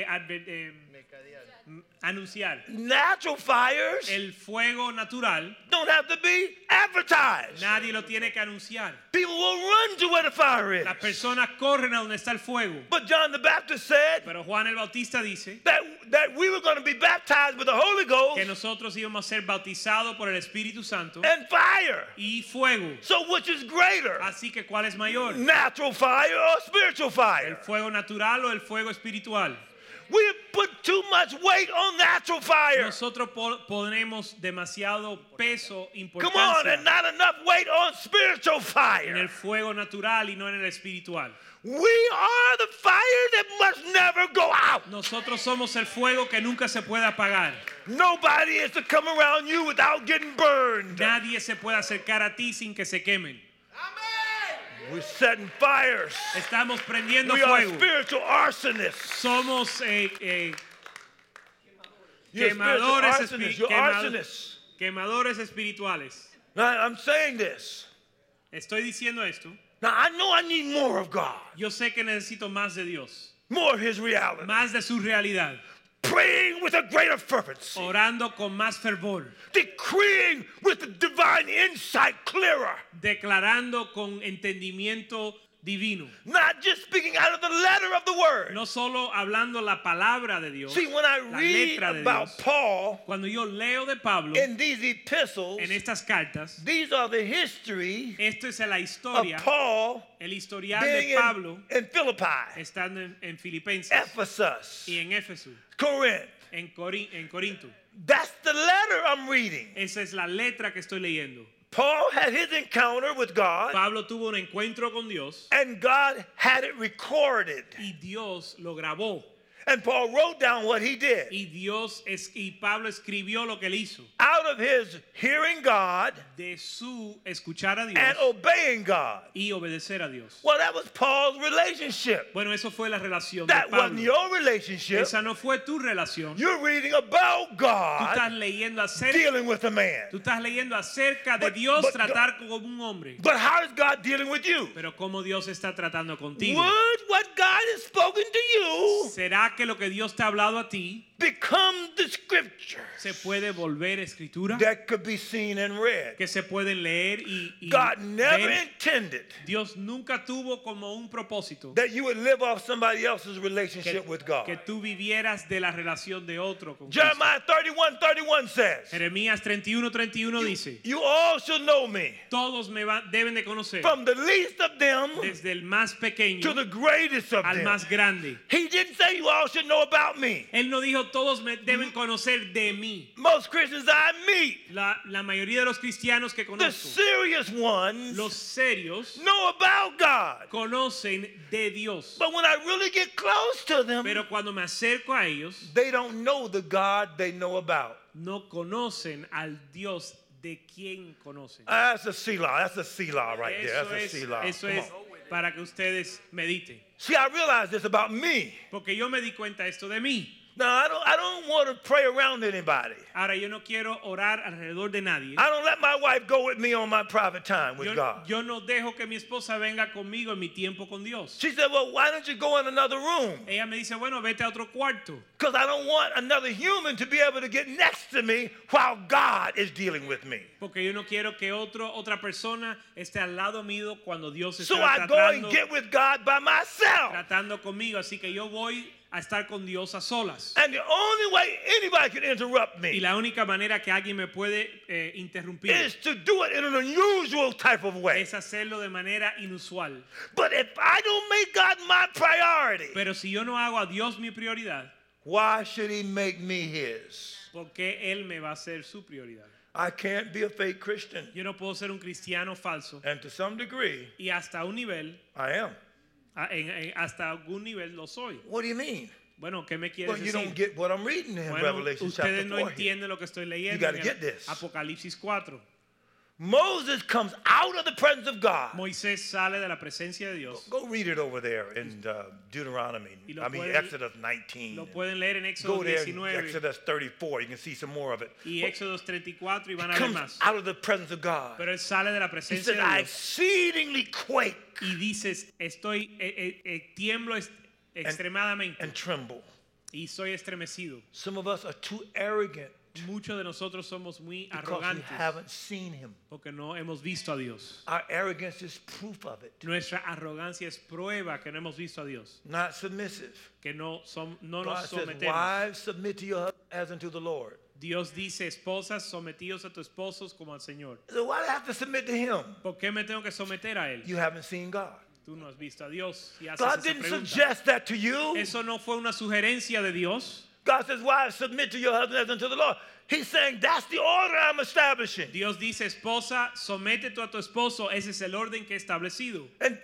anunciar. Natural fires El fuego natural, don't have to be advertised. nadie lo tiene que anunciar. People will run to where the fire is. Las personas corren a donde está el fuego. But John the Baptist said Pero Juan el Bautista dice that we were going to be baptized with the Holy Ghost que nosotros íbamos a ser bautizados por el Espíritu Santo and fire. y fuego. So which is greater? Así que ¿cuál es mayor? Natural fire or spiritual ¿El fire? fuego natural o el fuego espiritual? We have put too much weight on natural fire. Nosotros ponemos demasiado peso, Come on, and importancia not enough weight on spiritual en fire. el fuego natural y no en el espiritual. We are the fire that must never go out. Nosotros somos el fuego que nunca se puede apagar. Nobody is to come around you without getting burned. Nadie se puede acercar a ti sin que se quemen. We're setting fires. Estamos prendiendo We are fuego. spiritual arsonists. Somos You're spiritual quemadores, arsonists. You're arsonists. quemadores espirituales. Now, I'm saying this. Estoy diciendo esto. Now, I know I need more of God, Yo sé que necesito más de Dios, more of His reality. más de su realidad, Praying with a greater fervency. orando con más fervor, Decreeing with the divine insight clearer. declarando con entendimiento divino. Not just speaking out of the letter of the word. No solo hablando la palabra de Dios, See, when I la read letra de about Dios. Paul Cuando yo leo de Pablo in these epistles, en estas cartas, these are the history esto es la of historia, Paul el historial being de Pablo in Philippi, estando en Filipenses Ephesus, y en Éfeso, Corinth. en Corinto. That's the letter I'm reading. Esa es la letra que estoy leyendo. Paul had his encounter with God, Pablo tuvo un encuentro con Dios and God had it recorded. y Dios lo grabó. And Paul wrote down what he did. Y Pablo escribió lo que él hizo. Out of his hearing God De su escuchar a Dios and obeying God. y obedecer a Dios. Well, that was Paul's relationship. Bueno, eso fue la relación de That wasn't Pablo. your relationship. Esa no fue tu relación. You're reading about Tú estás God leyendo acerca, dealing with a man. tú estás leyendo acerca de Dios but- tratar como un hombre. But how is God dealing with you? Pero cómo Dios está tratando contigo. Would what God has spoken to you ¿Será que lo que Dios te ha hablado a ti become the scriptures se puede volver escritura? that could be seen and read? Que se pueden leer y God never ver. intended Dios nunca tuvo como un propósito that you would live off somebody else's relationship with God. que tú vivieras de la relación de otro con Cristo. Jeremiah 31:31 says, Jeremías 31:31 dice, you all shall know me, todos deben de conocer, from the least of them desde el más pequeño to the greatest of al them. más grande. He didn't say you all should know about me. Él no dijo todos deben conocer de mí. Most Christians I meet, La mayoría de los cristianos que the conozco, serious ones, los serios, know about God. conocen de Dios. But when I really get close to them, Pero cuando me acerco a ellos, they don't know the God they know about. no conocen al Dios de quien conocen. That's a Selah. That's a Selah right there. That's a Selah. Eso Come es on. para que ustedes mediten. See, I realize this about me. Porque yo me di cuenta esto de mí. Now, I don't want to pray around anybody. Ahora yo no quiero orar alrededor de nadie. I don't let my wife go with me on my private time with God. Yo no dejo que mi esposa venga conmigo en mi tiempo con Dios. She said, well, why don't you go in another room? Ella me dice, bueno, vete a otro cuarto. Because I don't want another human to be able to get next to me while God is dealing with me. Porque yo no quiero que otra persona esté al lado mío cuando Dios So está I go and get with God by myself. tratando conmigo. Así que yo voy a estar con Dios a solas. And the only way anybody can interrupt Y me la única manera que alguien me puede interrumpir is to do it in an unusual type of way. es hacerlo de manera inusual. But if I don't make God my priority, Pero si yo no hago a Dios mi prioridad, why should he make me his? ¿por qué Él me va a ser su prioridad? I can't be a fake Christian. Yo no puedo ser un cristiano falso. And to some degree, Y hasta un nivel, I am. hasta algún nivel lo soy. What do you mean? Bueno, ¿qué me quieres Well, you decir? don't get what I'm reading in Bueno, Revelation chapter ustedes no 4 here. entienden lo que estoy leyendo gotta en get this. Apocalipsis 4. Moses comes out of the presence of God. Moisés sale de la presencia de Dios. Go read it over there in Deuteronomy. Y lo I mean, pueden- Exodus 19. Lo pueden leer en Éxodo Go there in 19 Exodus 34. You can see some more of it. y Éxodo 34 y van He a ver comes más. out of the presence of God. Pero él sale de la He presencia says, de I Dios exceedingly quake y dices, tiemblo extremadamente and tremble. y soy estremecido. Some of us are too arrogant Muchos de nosotros somos muy because we arrogantes haven't seen him. porque no hemos visto a Dios. Our arrogance is proof of it. Nuestra arrogancia es prueba que no hemos visto a Dios, Not submissive. que no God nos says, sometemos. wives, submit to your husband as unto the Lord. Dios dice, esposas, sometidos a tus esposos como al Señor. So why do I have to submit to him? ¿Por qué me tengo que someter a Él? You haven't seen God. Tú no has visto a Dios y haces God esa didn't pregunta. suggest that to you. Eso no fue una sugerencia de Dios. God says, wives, submit to your husband as unto the Lord. He's saying, that's the order I'm establishing. Dios dice, esposa, sométete a tu esposo. Ese es el orden que he establecido. In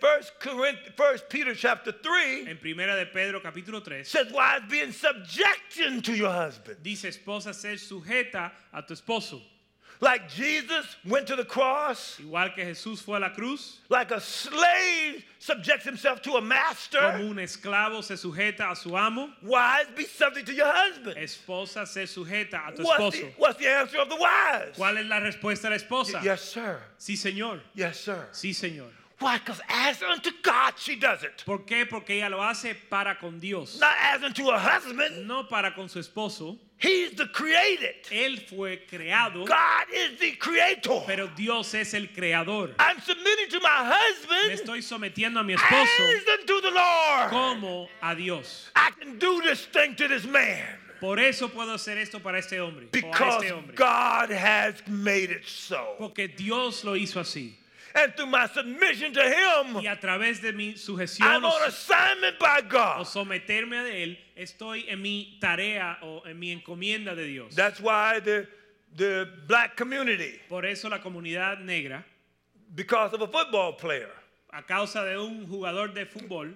1 Peter chapter 3, En Primera de Pedro capítulo 3 says, wives, be in subjection to your husband. dice, esposa, ser sujeta a tu esposo. Like Jesus went to the cross, Igual que Jesús fue a la cruz, like a slave subjects himself to a como master, un esclavo se sujeta a su amo, wives, be subject to your husband. esposa, ser sujeta a tu What's esposo. what's the answer of the wives? ¿Cuál es la respuesta de la esposa? Yes, sir. Sí, Señor. Yes, sir. Sí, Señor. Why? Because as unto God, she does it. ¿Por qué? Porque ella lo hace para con Dios, Not as unto her husband. no para con su esposo. He's the created. Él fue creado, God is the creator. pero Dios es el creador. I'm submitting to my Me husband estoy sometiendo a mi esposo as unto the Lord. como a Dios. I can do this thing to this man Por eso puedo hacer esto para este hombre o a because este hombre. God has made it so. Porque Dios lo hizo así. And through my submission to Him, Y a través de mi I'm sujeción on assignment by o God. someterme a Él, estoy en mi tarea o en mi encomienda de Dios. That's why the black community, Por eso la comunidad negra, because of a football player, a causa de un jugador de fútbol,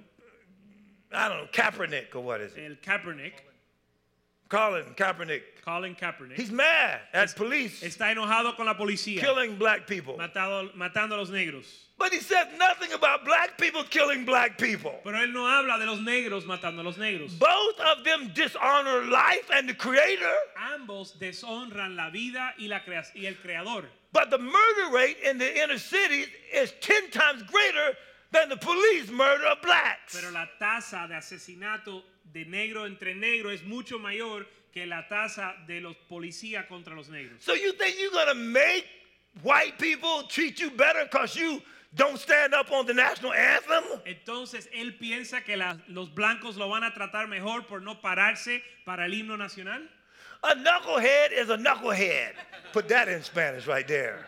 I don't know, Kaepernick or what is it? el Kaepernick, Colin Kaepernick. Colin Kaepernick, He's mad at police está enojado con la policía, killing black people. matando a los negros. But he says nothing about black people killing black people. Pero él no habla de los negros matando a los negros. Both of them dishonor life and the Creator. Ambos deshonran la vida y el creador. But the murder rate in the inner cities is 10 times greater than the police murder of blacks. Pero la tasa de asesinato de negro entre negro es mucho mayor que la tasa de los policías contra los negros. So you think you're going to make white people treat you better because you don't stand up on the national anthem? Entonces él piensa que los blancos lo van a tratar mejor por no pararse para el himno nacional. A knucklehead is a knucklehead. Put that in Spanish right there.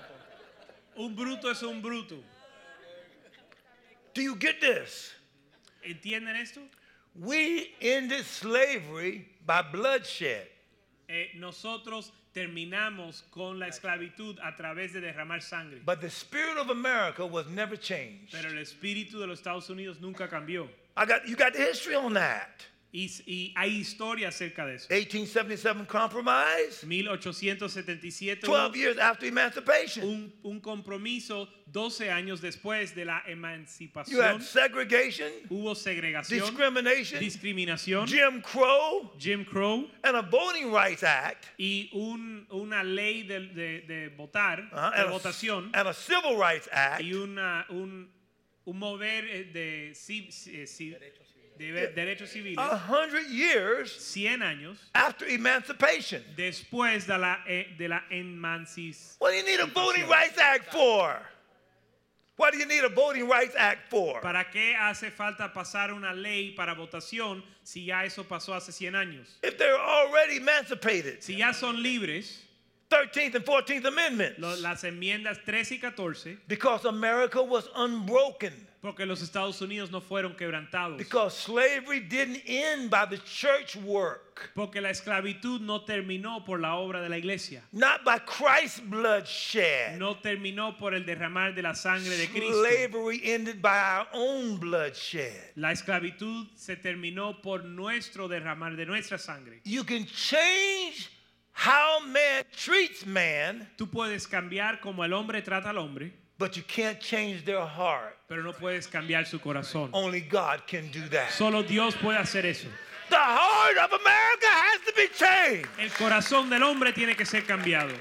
Un bruto es un bruto. Do you get this? ¿Entienden esto? We ended slavery by bloodshed. Nosotros terminamos con la esclavitud a través de derramar sangre. But the spirit of America was never changed. Pero el espíritu de los Estados Unidos nunca cambió. You got the history on that. Y hay historia acerca de eso. 1877 compromise, 1877, 12 years after emancipation. un compromiso 12 años después de la You emancipación. had segregation, Hubo segregación, discrimination, discriminación, Jim Crow, Jim Crow and a Voting Rights Act, y una ley de votar, de and, votación, and a Civil Rights Act. y un mover de derechos civiles 100 years 100 años after emancipation. después de la emancipación. What do you need a Voting Rights Act for? What do you need a Voting Rights Act for? ¿Para qué hace falta pasar una ley para votación si ya eso pasó hace 100 años? If they're already emancipated. Si ya son libres, 13th and 14th Amendments. las enmiendas 13 y 14, Because America was unbroken. Porque los Estados Unidos no fueron quebrantados. Because slavery didn't end by the church work. Porque la esclavitud no terminó por la obra de la iglesia. Not by Christ's blood shed. No terminó por el derramar de la sangre de Cristo. Slavery ended by our own blood shed. La esclavitud se terminó por nuestro derramar de nuestra sangre. You can change how man treats man, Tú puedes cambiar como el hombre trata al hombre, but you can't change their heart. pero no puedes cambiar su corazón. Only God can do that. Solo Dios puede hacer eso. The heart of America has to be changed. El corazón del hombre tiene que ser cambiado.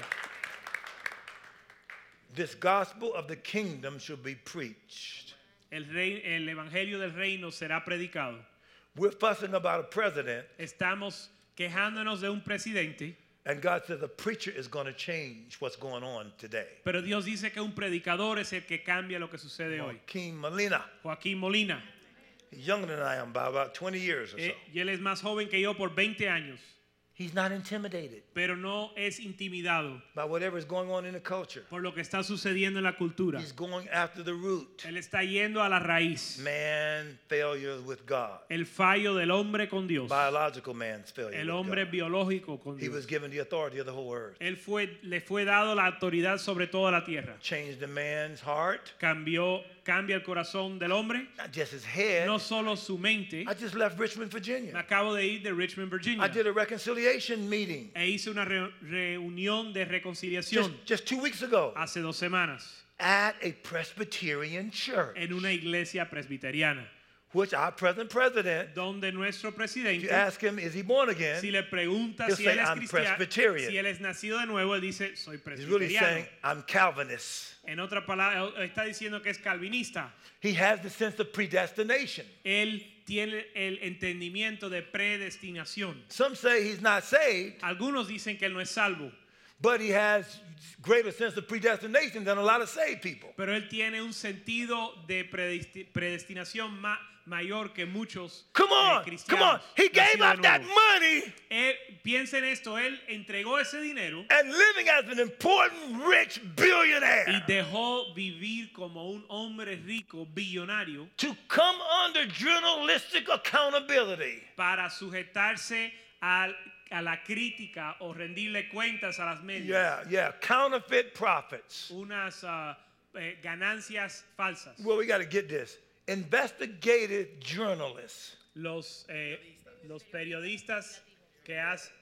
This gospel of the kingdom should be preached. El evangelio del reino será predicado. We're fussing about a president, Estamos quejándonos de un presidente, and God says a preacher is going to change what's going on today. pero Dios dice que un predicador es el que cambia lo que sucede hoy. Joaquin Molina, Joaquín Molina, he's younger than I am by about 20 years or so. y él es más joven que yo por 20 años, He's not intimidated pero no es intimidado by whatever is going on in the culture. por lo que está sucediendo en la cultura. He's going after the root. Él está yendo a la raíz. Man failure with God. El fallo del hombre con Dios. Biological man's failure El with hombre God. biológico con He Dios. was given the authority of the whole earth. Le fue dado la autoridad sobre toda la tierra. Changed the man's heart, Cambia el corazón del hombre, not just his head. no solo su mente. I just left Richmond, Me Virginia. acabo de ir de Richmond, Virginia. I did a reconciliation meeting E hice una reunión de reconciliación just 2 weeks ago hace 2 semanas at a Presbyterian church, en una iglesia presbiteriana, which our present president, donde nuestro if you presidente, ask him, is he born again? si le pregunta he'll si say, él es "I'm cristiano, Presbyterian." si él es nacido de nuevo, él dice, soy He's really presbiteriano. saying, I'm Calvinist. En otra palabra, está diciendo que es calvinista. He has the sense of predestination. Él tiene el entendimiento de predestinación. Some say he's not saved, Algunos dicen que él no es salvo, but he has greater sense of predestination than a lot of saved people. pero él tiene un sentido de predestinación mayor que muchos Come on, cristianos. come on. He gave nacidos up de that nuevo. money Piensa en esto, él entregó ese dinero and living as an important rich y billionaire dejó vivir como un hombre rico, billonario, to come under journalistic accountability. para sujetarse a la crítica o rendirle cuentas a las medias. Yeah, counterfeit profits. Unas ganancias falsas. Well, we got to get this. Investigative journalists. Los periodistas que hacen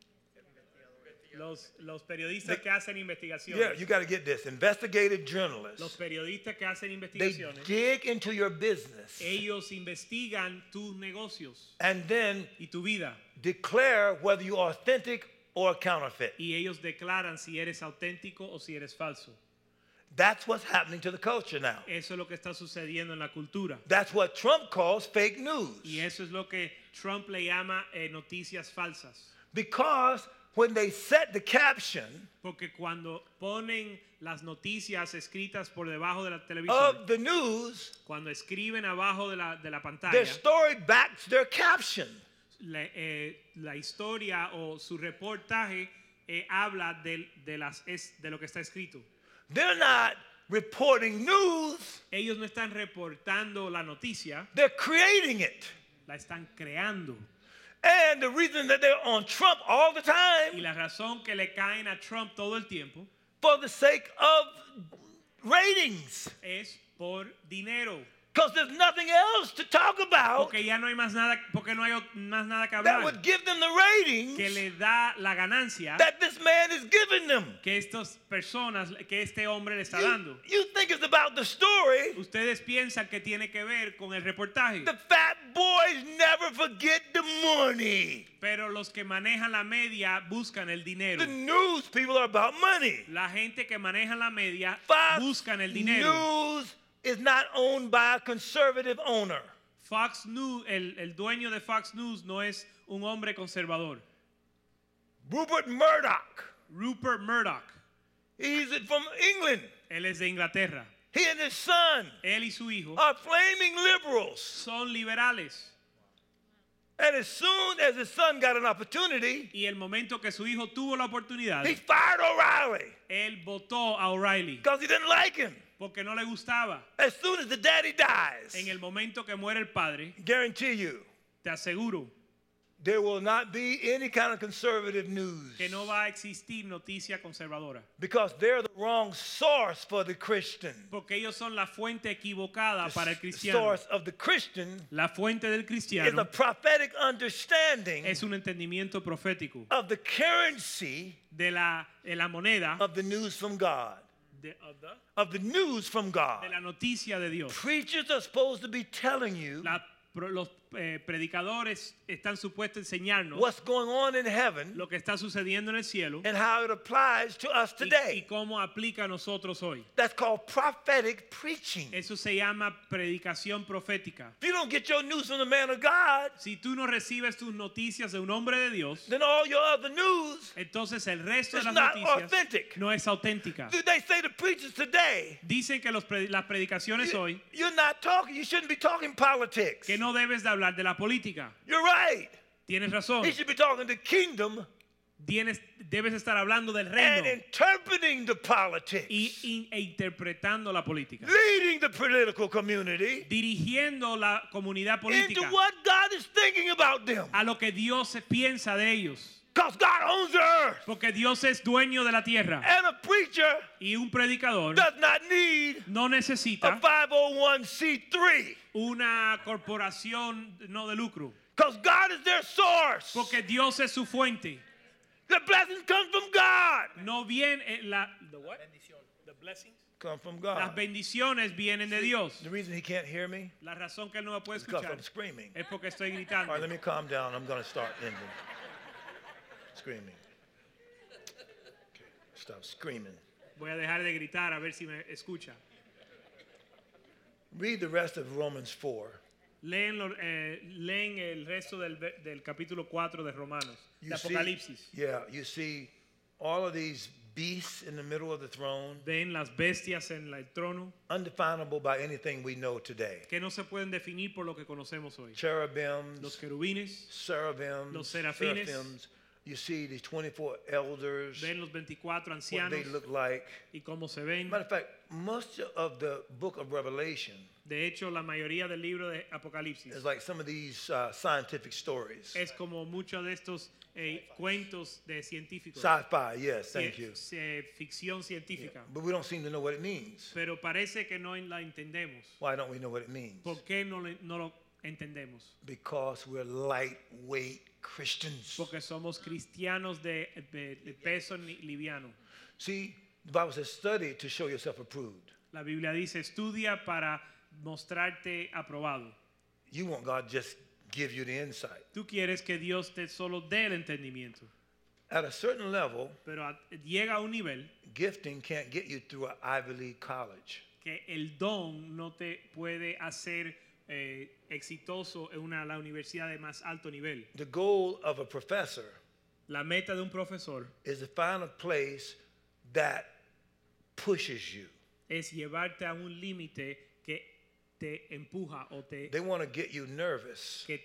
los periodistas que hacen Yeah, investigaciones. you got to get this. Investigative Los journalists. periodistas que hacen They investigaciones. dig into your business Ellos investigan tus negocios and then y tu vida declare whether you're authentic or a counterfeit. y ellos declaran si eres auténtico o si eres falso. That's what's happening to the culture now. Eso es lo que está sucediendo en la cultura. That's what Trump calls fake news. Y eso es lo que Trump le llama noticias falsas. Because when they set the caption Porque cuando ponen las noticias escritas por debajo de la televisión, of the news, cuando escriben abajo de la their pantalla, story backs their caption. la historia o su reportaje habla de lo que está escrito. They're not reporting news, Ellos no están reportando la noticia, they're creating it. la están creando. And the reason that they're on Trump all the Y time, la razón que le caen a Trump todo el tiempo for the sake of ratings. es por dinero. Because there's nothing else to talk about Porque ya no hay más nada, porque no hay más nada que that hablar. would give them the ratings Que le da la ganancia that this man is giving them. que estas personas, que este hombre le está dando. You think it's about the story. Ustedes piensan que tiene que ver con el reportaje. The fat boys never forget the money. Pero los que manejan la media buscan el dinero. The news people are about money. La gente que maneja la media Fox buscan el dinero. News is not owned by a conservative owner. Fox News, el dueño de Fox News no es un hombre conservador. Rupert Murdoch, Rupert Murdoch, he's from England. él es de Inglaterra. He and his son Él y su hijo are flaming liberals. son liberales. And as soon as his son got an opportunity, Y el momento que su hijo tuvo la oportunidad, he fired O'Reilly él votó a O'Reilly because he didn't like him. porque no le gustaba. As soon as the daddy dies, En el momento que muere el padre, guarantee you, te aseguro there will not be any kind of conservative news que no va a existir noticia conservadora. because they're the wrong source for the Christian. Porque ellos son la fuente equivocada para el The cristiano. source of the Christian La fuente del is a cristiano prophetic understanding es un entendimiento profético of the currency de la moneda, of the news from God. Of the news from God. de la noticia de Dios. Preachers are supposed to be telling you Los predicadores están supuestos a enseñarnos what's going on in heaven lo que está sucediendo en el cielo and how it applies to us y today. cómo aplica a nosotros hoy. That's called prophetic preaching. Eso se llama predicación profética. If you don't get your news from the man of God, Si tú no recibes tus noticias de un hombre de Dios, then all your other news, entonces el resto de It's las not noticias authentic. no es auténtica. they say the preachers today, Dicen que las predicaciones hoy you're not talking, you shouldn't be talking politics. que no debes de hablar de la política. You're right. Tienes razón. He should be talking the kingdom Debes estar hablando del and reino interpreting the politics, e interpretando la política. leading the political community Dirigiendo la comunidad into política what God is thinking about them. a lo que Dios piensa de ellos. Because God owns the earth. Porque Dios es dueño de la tierra. And a preacher Y un predicador does not need no a necesita 501c3. una corporación no de lucro. Because God is their source. Porque Dios es su fuente. The blessings come from God. No viene las Come from God. bendiciones vienen de Dios. The reason he can't hear me La razón que él no me puede is because escuchar I'm screaming. es porque estoy All gritando. right, let me calm down. I'm going to start ending. Screaming. Okay, stop screaming. Voy a dejar de gritar a ver si me escucha. Read the rest of Romans 4. Leen el resto del capítulo 4 de Romanos, de You see, Apocalipsis. you see all of these beasts in the middle of the throne, Ven las bestias en el trono undefinable by anything we know today. que no se pueden definir por lo que conocemos hoy. Los Cherubims, querubines, seraphims, los serafines. seraphims. You see these 24 elders, ven los 24 what ancianos they look like. y cómo se ven. Matter of fact, most of the book of Revelation De hecho, la mayoría del libro de Apocalipsis is like some of these scientific stories. es como muchos de estos cuentos de científicos. Sci-fi, yes, thank you. Ficción científica. But we don't seem to know what it means. Pero parece que no la entendemos. Why don't we know what it means? ¿Por qué no lo entendemos? Because we're lightweight Christians. Porque somos cristianos de peso liviano. See, the Bible says study to show yourself approved. La Biblia dice, estudia para mostrarte aprobado. You want God to just give you the insight. Tú quieres que Dios te solo dé el entendimiento. At a certain level, Pero llega a un nivel gifting can't get you through an Ivy League college. que el don no te puede hacer exitoso en la universidad de más alto nivel. The goal of a professor La meta de un profesor is to find a place that pushes you. es llevarte a un límite que te empuja o They want to get you nervous, que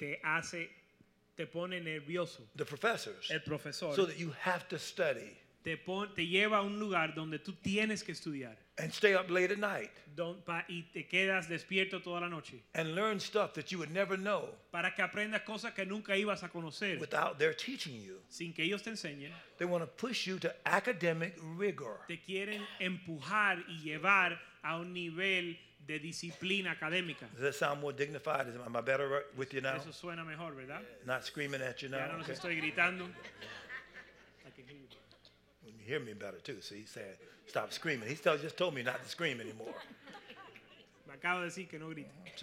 te pone nervioso. the professors, El profesor so that you have to study te lleva a un lugar donde tú tienes que estudiar and stay up late at night y te quedas despierto toda la noche and learn stuff that you would never know para que aprendas cosas que nunca ibas a conocer without their teaching you. sin que ellos te enseñen. They want to push you to academic rigor. Te quieren empujar y llevar a un nivel de disciplina académica. Does that sound more dignified? Am I better with you now? Eso suena mejor, ¿verdad? Not screaming at you Ya now? no los Okay. estoy gritando. I can hear you. Well, you hear me better too. So he's saying, stop screaming. He just told me not to scream anymore. Me acabo de decir que no grite. See?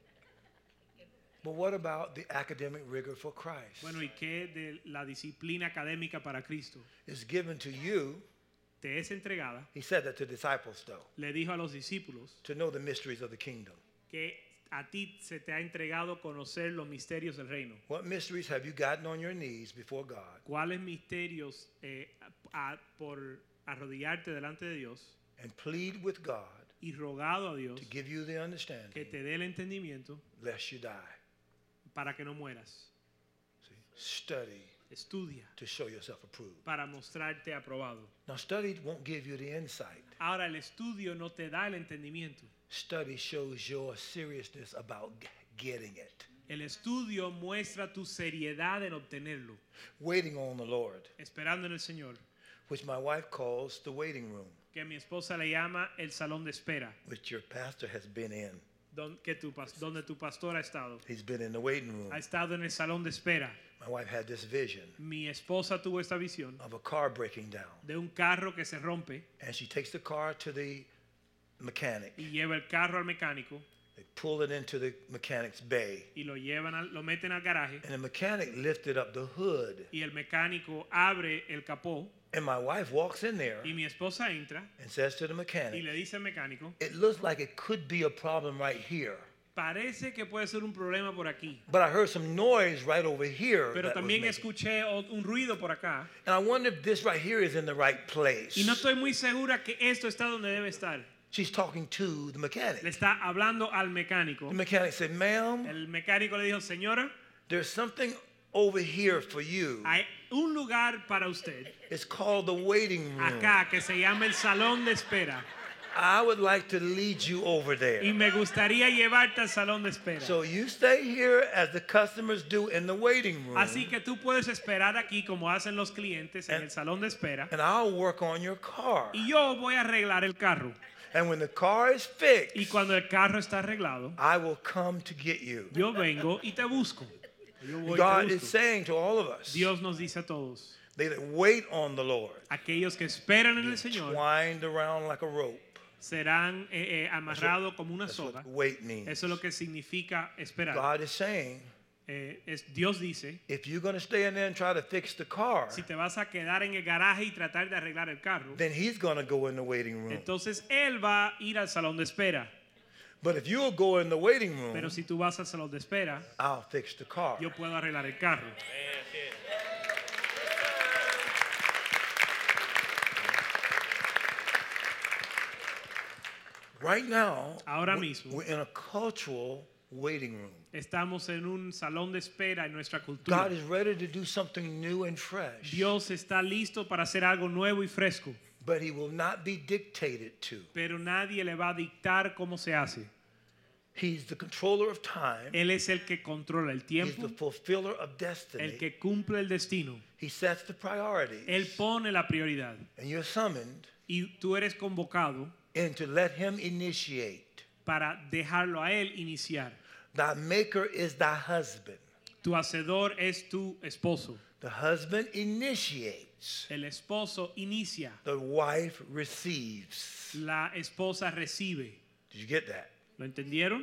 But what about the academic rigor for Christ? Bueno, ¿y qué de la disciplina académica para Cristo? It's given to you. Te es entregada. He said that to disciples, though, Le dijo a los discípulos to know the mysteries of the kingdom. que a ti se te ha entregado conocer los misterios del reino. What mysteries have you gotten on your knees before God ¿Cuáles misterios por arrodillarte delante de Dios and plead with God y rogado a Dios to give you the que understanding te dé el entendimiento lest you die? para que no mueras? Study Estudia to show yourself approved. para mostrarte aprobado. Now, study won't give you the insight. Ahora el estudio no te da el entendimiento. Study shows your seriousness about getting it. El estudio muestra tu seriedad en obtenerlo, Waiting on the Lord, esperando en el Señor, which my wife calls the waiting room, que mi esposa le llama el salón de espera, which your pastor has been in. donde tu pastor ha estado. He's been in the waiting room. Ha estado en el salón de espera. My wife had this vision Mi esposa tuvo esta visión of a car breaking down, de un carro que se rompe and she takes the car to the mechanic. y lleva el carro al mecánico They pull it into the mechanic's bay, y lo meten al garaje and the mechanic lifted up the hood, y el mecánico abre el capó and my wife walks in there y mi esposa entra and says to the y mechanic, le dice al mecánico, "It looks like it could be a problem right here, parece que puede ser un problema por aquí, but I heard some noise right over here pero that was también making-" escuché un ruido por acá And I wonder if this right here is in the right place. y no estoy muy segura que esto está donde debe estar. She's talking to the Le mechanic. está hablando al mecánico. The mechanic said, "Ma'am, El mecánico le dijo, señora, there's something over here for you. hay un lugar para usted It's called the waiting room. acá que se llama el salón de espera I would like to lead you over y there. me gustaría llevarte al salón de espera. So you stay here as the customers do in the waiting room, Así que tú puedes esperar aquí como hacen los clientes en And- el salón de espera and I'll work on your car. y yo voy a arreglar el carro. And when the car is fixed, Y cuando el carro está arreglado, I will come to get you." yo vengo y te busco. Yo voy y God te is busco. saying to all of us, Dios nos dice a todos, they that wait on the Lord, aquellos que esperan en el Señor twined around like a rope. serán amarrados como una That's what soga. wait means. Eso es lo que significa esperar. God is saying, Dios dice, if you're going to stay in there and try to fix the car, si te vas a quedar en el garaje y tratar de arreglar el carro, then He's going to go in the waiting room. entonces Él va a ir al salón de espera. But if you'll go in the waiting room, Pero si tú vas al salón de espera, I'll fix the car. yo puedo arreglar el carro. Right now, Ahora mismo. we're in a cultural waiting room. Estamos en un salón de espera en nuestra cultura. God is ready to do something new and fresh, Dios está listo para hacer algo nuevo y fresco, but He will not be dictated to. pero nadie le va a dictar cómo se hace. He's the controller of time. Él es el que controla el He's tiempo, the fulfiller of el destiny. que cumple el destino. He sets the priorities. Él pone la prioridad And you're summoned y tú eres convocado in to let Him initiate. para dejarlo a Él iniciar. Thy maker is thy husband. Tu hacedor es tu esposo. The husband initiates. El esposo inicia, The wife receives. la esposa recibe. Did you get that? ¿Lo entendieron?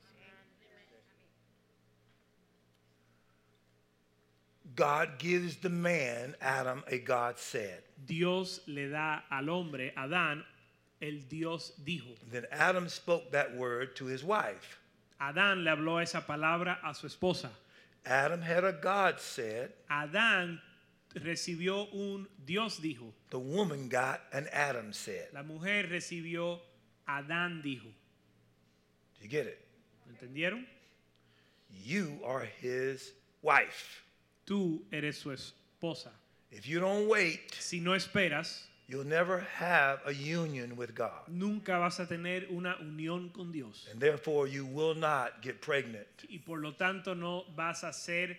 God gives the man, Adam, a God said. Dios le da al hombre, Adán, el Dios dijo. Then Adam spoke that word to his wife. Adán le habló esa palabra a su esposa. Adam had a God said. Adán recibió un Dios dijo. The woman got an Adam said. La mujer recibió Adán dijo. Did you get it? ¿Lo entendieron? You are his wife. Tú eres su esposa. If you don't wait, Si no esperas, you'll never have a union with God. nunca vas a tener una unión con Dios. And therefore, you will not get pregnant. Y por lo tanto no vas a ser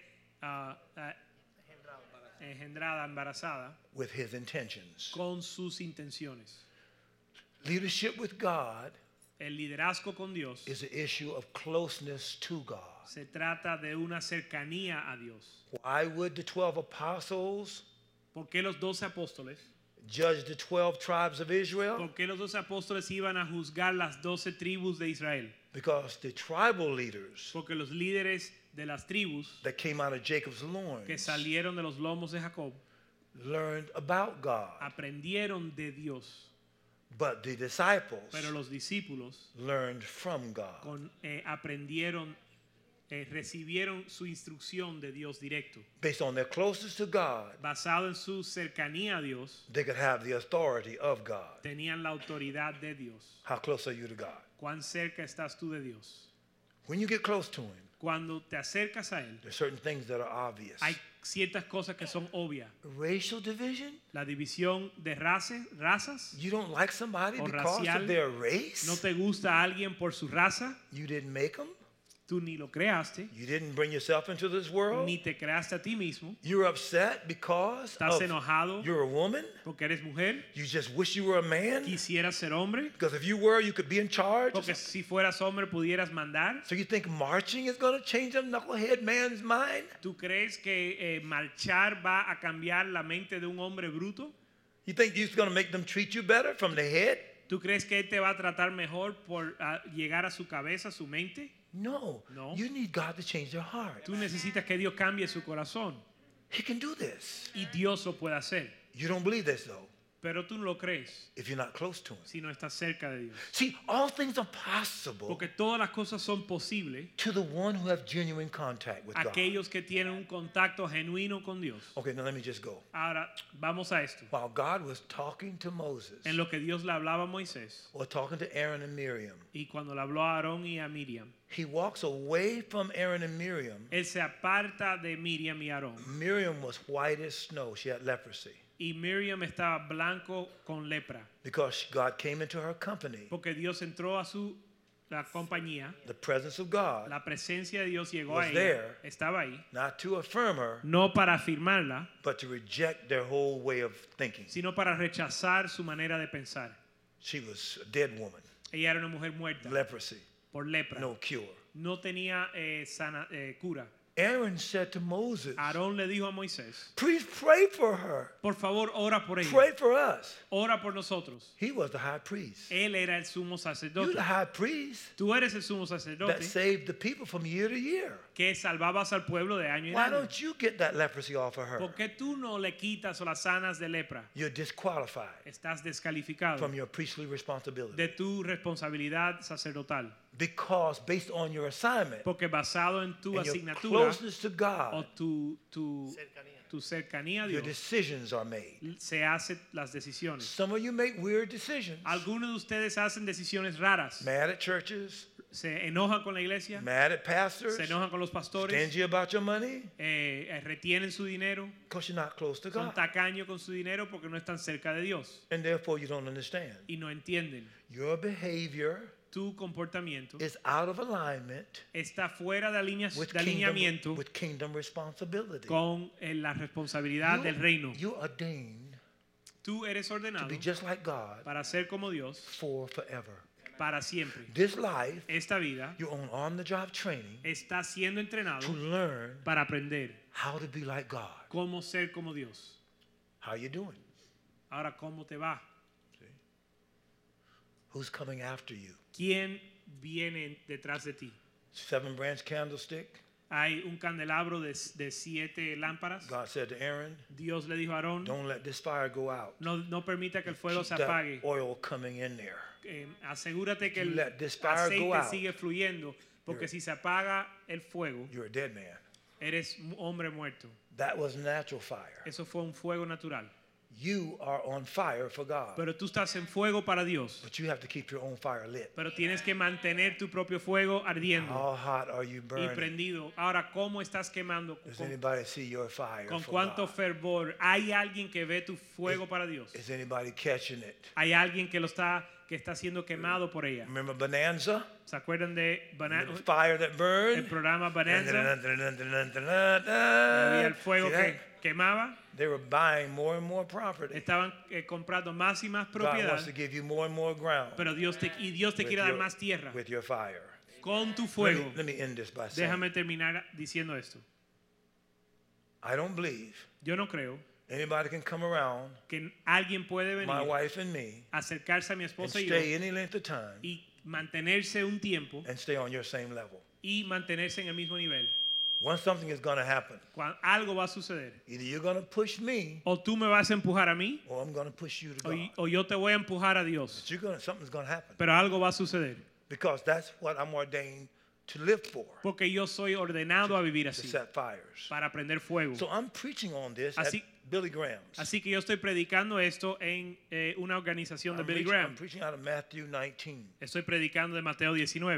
engendrada, embarazada With his intentions. con sus intenciones. Leadership with God El liderazgo con Dios is an issue of closeness to God. se trata de una cercanía a Dios. Why would the 12 apostles ¿Por qué los 12 apóstoles? judge the 12 tribes of Israel? ¿Por qué los 12 apóstoles iban a juzgar las 12 tribus de Israel? Because the tribal leaders Porque los líderes de las tribus that came out of Jacob's loins que salieron de los lomos de Jacob learned about God. aprendieron de Dios, But the disciples pero los discípulos learned from God. recibieron su instrucción de Dios directo. Based on their closeness to God, Basado en su cercanía a Dios, they could have the authority of God. tenían la autoridad de Dios. How close are you to God? ¿Cuán cerca estás tú de Dios? When you get close to Him, Cuando te acercas a Él, there's certain things that are obvious. hay ciertas cosas que son obvias. Racial division? La división de razas You don't like somebody o because racial. of their race? No te gusta a alguien por su raza. You didn't make them? Tú ni lo creaste, You didn't bring yourself into this world? ni te creaste a ti mismo. You're upset because Estás of enojado you're a woman? porque eres mujer. You just wish you were a man? Quisieras ser hombre. Because if you were, you could be in charge? Porque si fueras hombre pudieras mandar. So you think marching is going to change a knucklehead man's mind? ¿Tú crees que marchar va a cambiar la mente de un hombre bruto? You think it's going to make them treat you better from the head? ¿Tú crees que él te va a tratar mejor por llegar a su cabeza, su mente? No. No. You need God to change their heart. Tú necesitas que Dios cambie su corazón. He can do this. Y Dios lo puede hacer. You don't believe this, though, Pero tú no lo crees if you're not close to Him. si no estás cerca de Dios. See, all things are possible Porque todas las cosas son posibles to the one who have genuine contact with God. aquellos que tienen un contacto genuino con Dios. Okay, now let me just go. Ahora, vamos a esto. While God was talking to Moses, En lo que Dios le hablaba a Moisés or talking to Aaron and Miriam, y cuando le habló a Aarón y a Miriam, he walks away from Aaron and Miriam. él se aparta de Miriam y Aarón. Miriam was white as snow. She had leprosy Y Miriam estaba blanco con lepra. because God came into her company. Porque Dios entró a la compañía. The presence of God, La presencia de Dios llegó was a ella. there. Estaba ahí. not to affirm her, No para afirmarla, but to reject their whole way of thinking. sino para rechazar su manera de pensar. She was a dead woman, Ella era una mujer muerta leprosy, por lepra. no cure. No tenía cura. Aaron said to Moses, Aarón le dijo a Moisés, please pray for her. por favor, ora por ella. Pray for us. Ora por nosotros. He was the high priest. Él era el sumo You're sacerdote. the high priest Tú eres el sumo that sacerdote saved the people from year to year. que salvabas al pueblo de año en Why año. don't you get that leprosy off of her? ¿Por qué tú no le quitas o las sanas de lepra? You're disqualified Estás descalificado from your priestly responsibility. de tu responsabilidad sacerdotal. Because based on your assignment Porque basado en tu and your asignatura closeness to o God, tu cercanía a your Dios, decisions are made. se hacen las decisiones. Some of you make weird decisions. Algunos de ustedes hacen decisiones raras. Mad at churches, Se enojan con la iglesia, mad at pastors, se enojan con los pastores, stingy about your money, retienen su dinero, because you're not close to son God. tacaños con su dinero porque no están cerca de Dios And therefore you don't understand. y no entienden. Your behavior Tu comportamiento is out of alignment está fuera de with alineamiento kingdom responsibility. con la responsabilidad del reino. You're ordained Tú eres to ordenado be just like God para ser como Dios for forever. para siempre. This life, Esta vida you're on the job training está siendo entrenado to learn para aprender how to be like God. cómo ser como Dios. How you doing? Ahora, ¿cómo te va? Who's coming after you? ¿Quién viene detrás de ti? 7 branch candlestick. Hay un candelabro de 7 lámparas. God said to Aaron, Dios le dijo a Aarón, don't let this fire go out. no permita que el fuego Keep se that apague. oil coming in there. Asegúrate que You el let this fire go aceite out. sigue fluyendo, porque si se apaga el fuego, You're a dead man. eres un hombre muerto. That was natural fire. Eso fue un fuego natural. You are on fire for God. Pero tú estás en fuego para Dios. But you have to keep your own fire lit. Pero tienes que mantener tu propio fuego ardiendo How hot are you y burning? prendido. Ahora, ¿cómo estás quemando? Does anybody see your fire ¿Con for cuánto God? fervor? ¿Hay alguien que ve tu fuego para Dios? Is anybody catching it? ¿Hay alguien que está siendo quemado por ella? Remember Bonanza? ¿Se acuerdan de The fire that el burned? programa Bonanza? Había el fuego See que that? quemaba. They were buying more and more property. Estaban comprando más y más God wants propiedad. to give you more and more ground Pero Dios te with quiere dar your- más tierra. with your fire. Con tu Let fuego. me end this by saying, Déjame terminar diciendo esto. I don't believe Yo no creo anybody can come around que alguien puede my venir, wife and me acercarse a mi and esposa y stay yo any length of time y mantenerse un tiempo and stay on your same level. y mantenerse en el mismo nivel. Once something is going to happen, Algo va a suceder. either you're going to push me O tú me vas a empujar a mí or I'm going to push you to God. o yo te voy a empujar a Dios. But something's going to happen Pero algo va a suceder. because that's what I'm ordained to live for, Porque yo soy ordenado a vivir to así. set fires. Para prender fuego. So I'm preaching on this Así- at Billy Graham's. Así que yo estoy predicando esto en una organización de Billy I'm Graham. preaching out of Matthew 19. Estoy predicando de Mateo 19.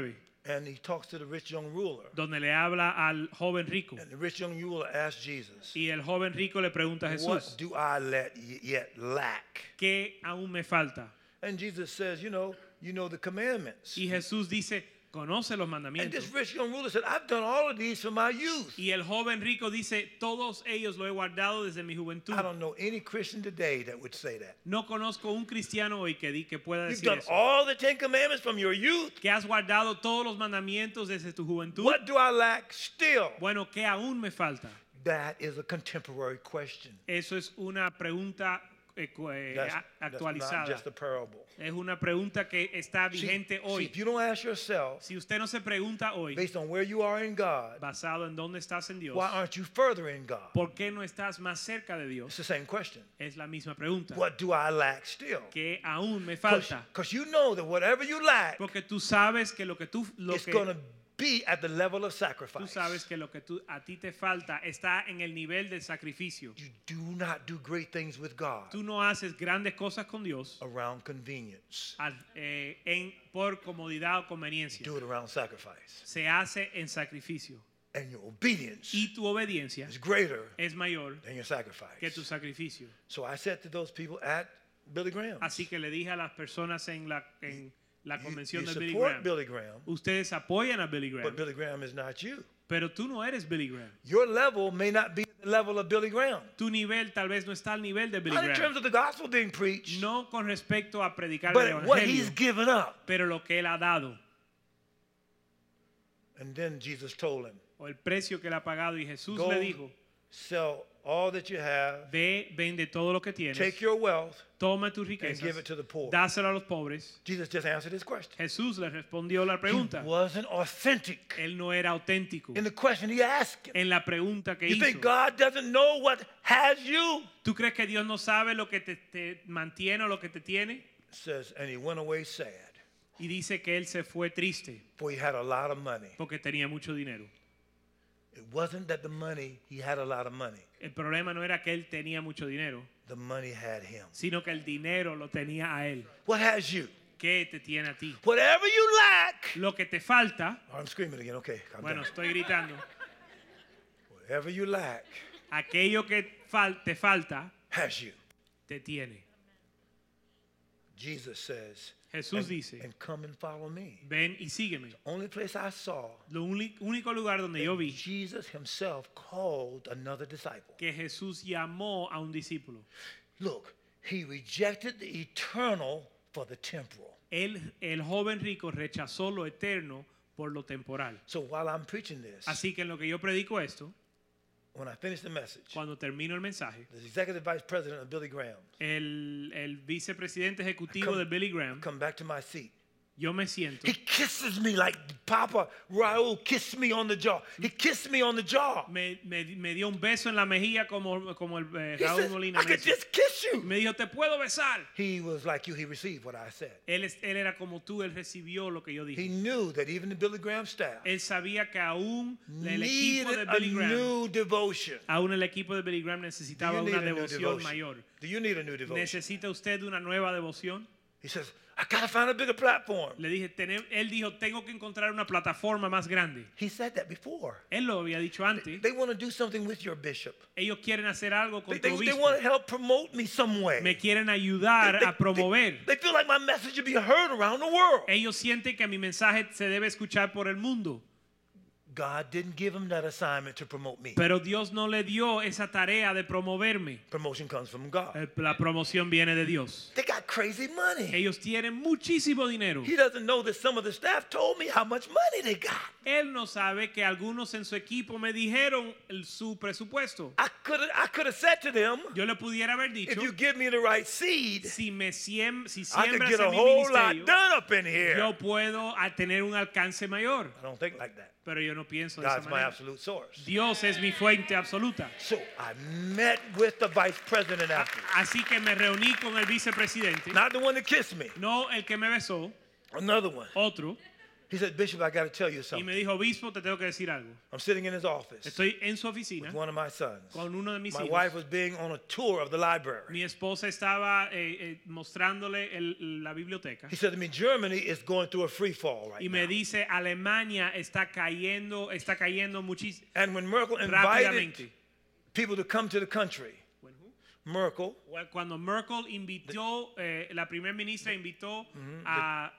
And he talks to the rich young ruler. donde le habla al joven rico. And the rich young ruler asks Jesus, Y el joven rico le pregunta a what Jesús, do I yet lack? ¿qué aún me falta? And Jesus says, you know the commandments. Y Jesús dice, conoce los And mandamientos. this rich young ruler said, I've done all of these from my youth. Y el joven rico dice, todos ellos lo he guardado desde mi juventud. I don't know any Christian today that would say that. No conozco un cristiano hoy que pueda You've decir done eso. all the 10 commandments from your youth. Que has guardado todos los mandamientos desde tu juventud. What do I lack still? Bueno, ¿qué aún me falta? That is a contemporary question. Eso es una pregunta That's actualizada. not just a parable. Es una pregunta que está vigente See, hoy. if you don't ask yourself, Si usted no se pregunta hoy, based on where you are in God, basado en dónde estás en Dios, why aren't you further in God? ¿por qué no estás más cerca de It's Dios? the same question. Es la misma pregunta. What do I lack still? ¿Qué aún me falta? Because you know that whatever you lack Porque tú sabes que is going to be at the level of tú sacrifice. sabes que lo que a ti te falta está en el nivel del sacrificio. You do not do great things with God Tú no haces grandes cosas con Dios around convenience. por comodidad o conveniencia. Do it around sacrifice. Se hace en sacrificio. And your obedience Y tu obediencia is greater es mayor than your que tu sacrifice. sacrificio. So I said to those people at Billy Graham, Así que le dije a las personas en la convención you de Billy support Graham, Billy Graham, ustedes apoyan a Billy Graham, but Billy Graham is not you. pero tú no eres Billy Graham. Your level may not be the level of Billy Graham. Tu nivel tal vez no está al nivel de Billy Not in Graham. terms of the gospel being preached, No con respecto a predicar el but what he's evangelio, given up. pero lo que él ha dado And then Jesus told him, o el precio que él ha pagado, y Jesús go le dijo, sell all that you have, ve, vende todo lo que tienes, take your wealth, toma tus and riquezas, give it to the poor. dáselo a los pobres. Jesus just answered his question. Jesús le respondió la He pregunta. wasn't authentic Él no era auténtico in the question he asked him. en la pregunta que You think hizo. God doesn't know what has you? ¿Tú crees que Dios no sabe lo que te mantiene o lo que te tiene? It says, and he went away sad, Y dice que él se fue triste for he had a lot of money. porque tenía mucho dinero. It wasn't that the money, he had a lot of money. El problema no era que él tenía mucho dinero, The money had him. sino que el dinero lo tenía a él. What has you? ¿Qué te tiene a ti? Whatever you lack. Lo que te falta, Oh, I'm screaming again. Okay, calm bueno, down. estoy gritando, Whatever you lack aquello que te falta, has you. te tiene. Jesus says, Jesús and, dice, and come and follow me. ven y sígueme. Only place I saw Lo único lugar donde yo vi Jesus himself called another disciple. que Jesús llamó a un discípulo. Look, he rejected the eternal for the temporal. El joven rico rechazó lo eterno por lo temporal. So while I'm preaching this, Así que en lo que yo predico esto, when I finish the message, cuando termino el mensaje, the executive vice president of Billy Graham, el vicepresidente ejecutivo de Billy Graham, come back to my seat. yo me siento, He kisses me like Papa Raul kissed me on the jaw. He kissed me on the jaw. me dio un beso en la mejilla como el He Raúl says, Molina I me could hizo. just kiss you. Me dijo, te puedo besar. He was like you. He received what I said. Él era como tú, él recibió lo que yo He dije. knew that even the Billy Graham staff Él sabía que aún el equipo de needed a Billy Graham, new devotion. aún el equipo de Billy Graham necesitaba Do you una need a new devoción devotion? mayor. Do you need a new devotion? ¿Necesita usted una nueva devoción? He says, I gotta find a bigger platform. Le dije, él dijo, tengo que encontrar una plataforma más grande. He said that before. Él lo había dicho antes. They want to do something with your bishop. Ellos quieren hacer algo con They tu obispo. want to help promote me some way. Me quieren ayudar a promover. They feel like my message should be heard around the world. Ellos sienten que mi mensaje se debe escuchar por el mundo. God didn't give him that assignment to promote me. Pero Dios no le dio esa tarea de promoverme. Promotion comes from God. La promoción viene de Dios. They got crazy money. Ellos tienen muchísimo dinero. He doesn't know that some of the staff told me how much money they got. Él no sabe que algunos en su equipo me dijeron su presupuesto. I could have said to them, Yo le pudiera haber if dicho, you give me the right seed, si I could siembras get a en mi whole lot ministerio, done up in here. yo puedo tener un alcance mayor. I don't think like that. Pero yo no pienso de esa God's my manera. absolute source. Dios es mi fuente absoluta. So I met with the vice president after. Así que me reuní con el vicepresidente, Not the one that kissed me. no el que me besó, Another one. otro. He said, Bishop, I got to tell you y something. me dijo, obispo, te tengo que decir algo. I'm sitting in his office Estoy en su oficina with one of my sons. con uno de mis My hijos. wife was being on a tour of the library. Mi esposa estaba mostrándole la biblioteca He said to me, Germany is going through a free fall right y me now. dice, Alemania está cayendo muchísimo And when Merkel invited rápidamente. people to come to the country, Merkel, Cuando Merkel invitó, la primera ministra invitó a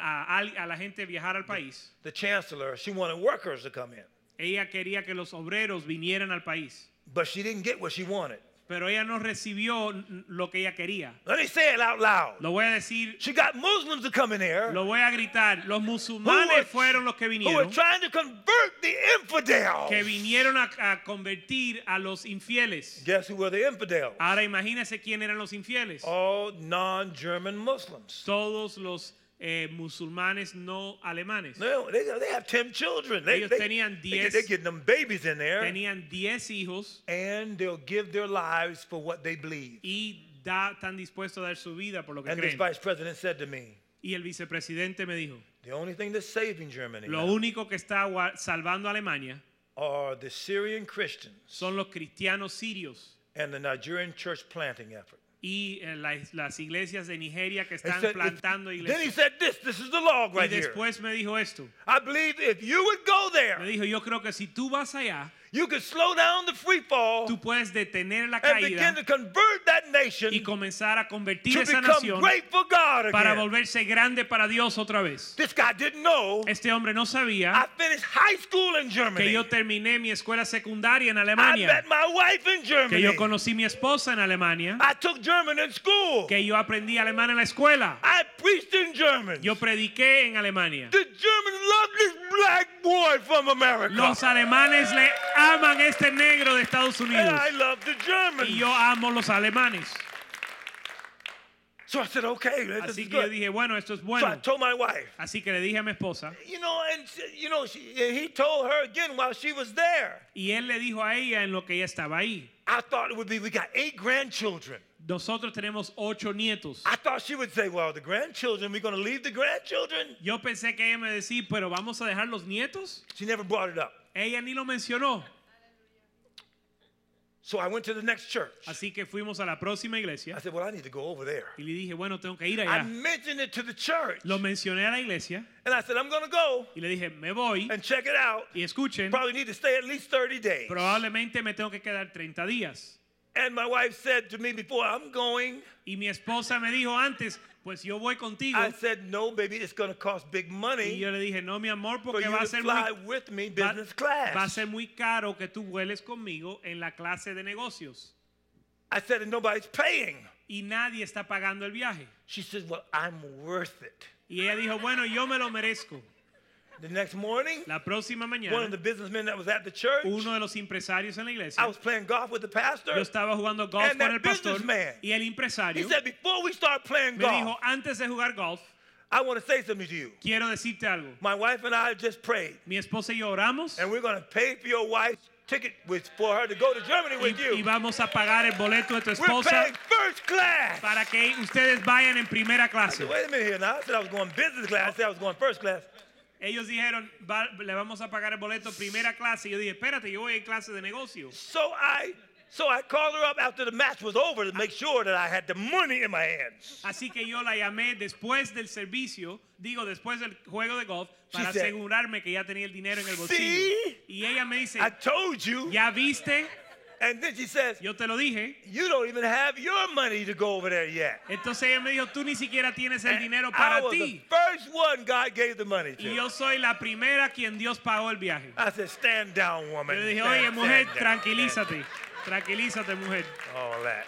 la gente a viajar al país, the chancellor, she wanted workers to come in. ella quería que los obreros vinieran al país, But she didn't get what she wanted. pero ella no recibió lo que ella quería. Let me say it out loud. Lo voy a decir, She got Muslims to come in here lo voy a gritar. Los musulmanes fueron los que who were vinieron, trying to convert the infidels. que vinieron a convertir a los infieles. Guess who were the infidels? Ahora imagínense quién eran los infieles. All non-German Muslims. Todos los musulmanes no alemanes. No, they have 10 children. Ellos tenían They're 10 getting them babies in there. Tenían 10 hijos And they'll give their lives for what they believe. y están dispuestos a dar su vida por lo que And this creen. vice president said to me, Y el vicepresidente me dijo, the only thing that's saving Germany lo now único que está salvando a Alemania are the Syrian Christians son los cristianos sirios and the Nigerian church planting effort. y las iglesias de Nigeria que He están said, plantando then he iglesias. said this is the log Y right here. después me dijo esto. I believe if you would go Me there, dijo, yo creo que si tú vas allá, you could slow down the free fall tú puedes detener la and begin caída to convert that nation y comenzar a convertir to esa become nación great for God para again. volverse grande para Dios otra vez. This guy didn't know Este hombre no sabía I finished high school in que Germany. yo terminé mi escuela secundaria en I Alemania, met my wife in que Germany. yo conocí mi esposa en Alemania, I took German in school. que yo aprendí alemán en la escuela, I preached in German. yo prediqué en Alemania. The Germans love this black boy from America. Los alemanes le aman a este negro de Estados And Unidos I love the Germans. y yo amo los alemanes. So I said, okay, this Así is que yo good. dije, bueno, esto es So I bueno. told my wife, Así que le dije a mi esposa he told her again while she was there. y él le dijo a ella en lo que ella estaba ahí. I thought it would be, we got 8 grandchildren. Nosotros tenemos 8 nietos. I thought she would say, well, the grandchildren, we're going to leave the grandchildren. Yo pensé que ella me decía, pero vamos a dejar los nietos. She never brought it up. Ella ni lo mencionó. So I went to the next church. Así que fuimos a la próxima I iglesia said, well, I need to go over there. y le dije, bueno, tengo que ir I allá. mentioned it to the church. Lo mencioné a la iglesia And I said, I'm going to go y le dije, me voy and check it out. y escuchen, Probably need to stay at least 30 days. probablemente me tengo que quedar 30 días. And my wife said to me before, I'm going. Y mi esposa me dijo antes, pues yo voy contigo. I said, no, baby, it's going to cost big Y money yo le dije, no, mi amor, for porque you va to a ser fly muy, with me va, business va a class. ser muy caro que tú vueles conmigo en la clase de negocios. I said, and nobody's paying. Y nadie está pagando el viaje. She said, well, I'm worth it. Y ella dijo, bueno, yo me lo merezco. The next morning, La próxima one of mañana, the businessmen that was at the church, uno de los empresarios en la I iglesia, was playing golf with the pastor. yo estaba jugando golf And con that el pastor businessman, y el He empresario said, before we start playing me dijo, golf, antes de jugar golf, I want to say something to you. quiero decirte algo. My wife and I just prayed, Mi esposa y yo oramos and we're going to pay for your wife's ticket for her to go to Germany with y you. vamos a pagar el boleto de tu We're esposa paying first class. para que ustedes vayan en primera I clase. said, wait a minute here now. I said I was going business class. I said I was going first class. Ellos dijeron, le vamos a pagar el boleto primera clase. Y yo dije, espérate, yo voy en clase de negocio. So I called her up after the match was over to make sure that I had the money in my hands. Así que yo la llamé después del servicio, después del juego de golf, para She said, asegurarme que ya tenía el dinero en el bolsillo. "See? Y ella me dice, I told you. ¿ya viste? And then she says, Yo te lo dije. you don't even have your money to go over there yet. Entonces ella me dijo, tú ni siquiera tienes el And dinero I para was ti. the first one God gave the money Y to. yo soy la primera quien Dios pagó el viaje. I said, stand down, woman. Yo le dije, Stand- oye, mujer, stand down. tranquilízate. Tranquilízate, mujer. All that.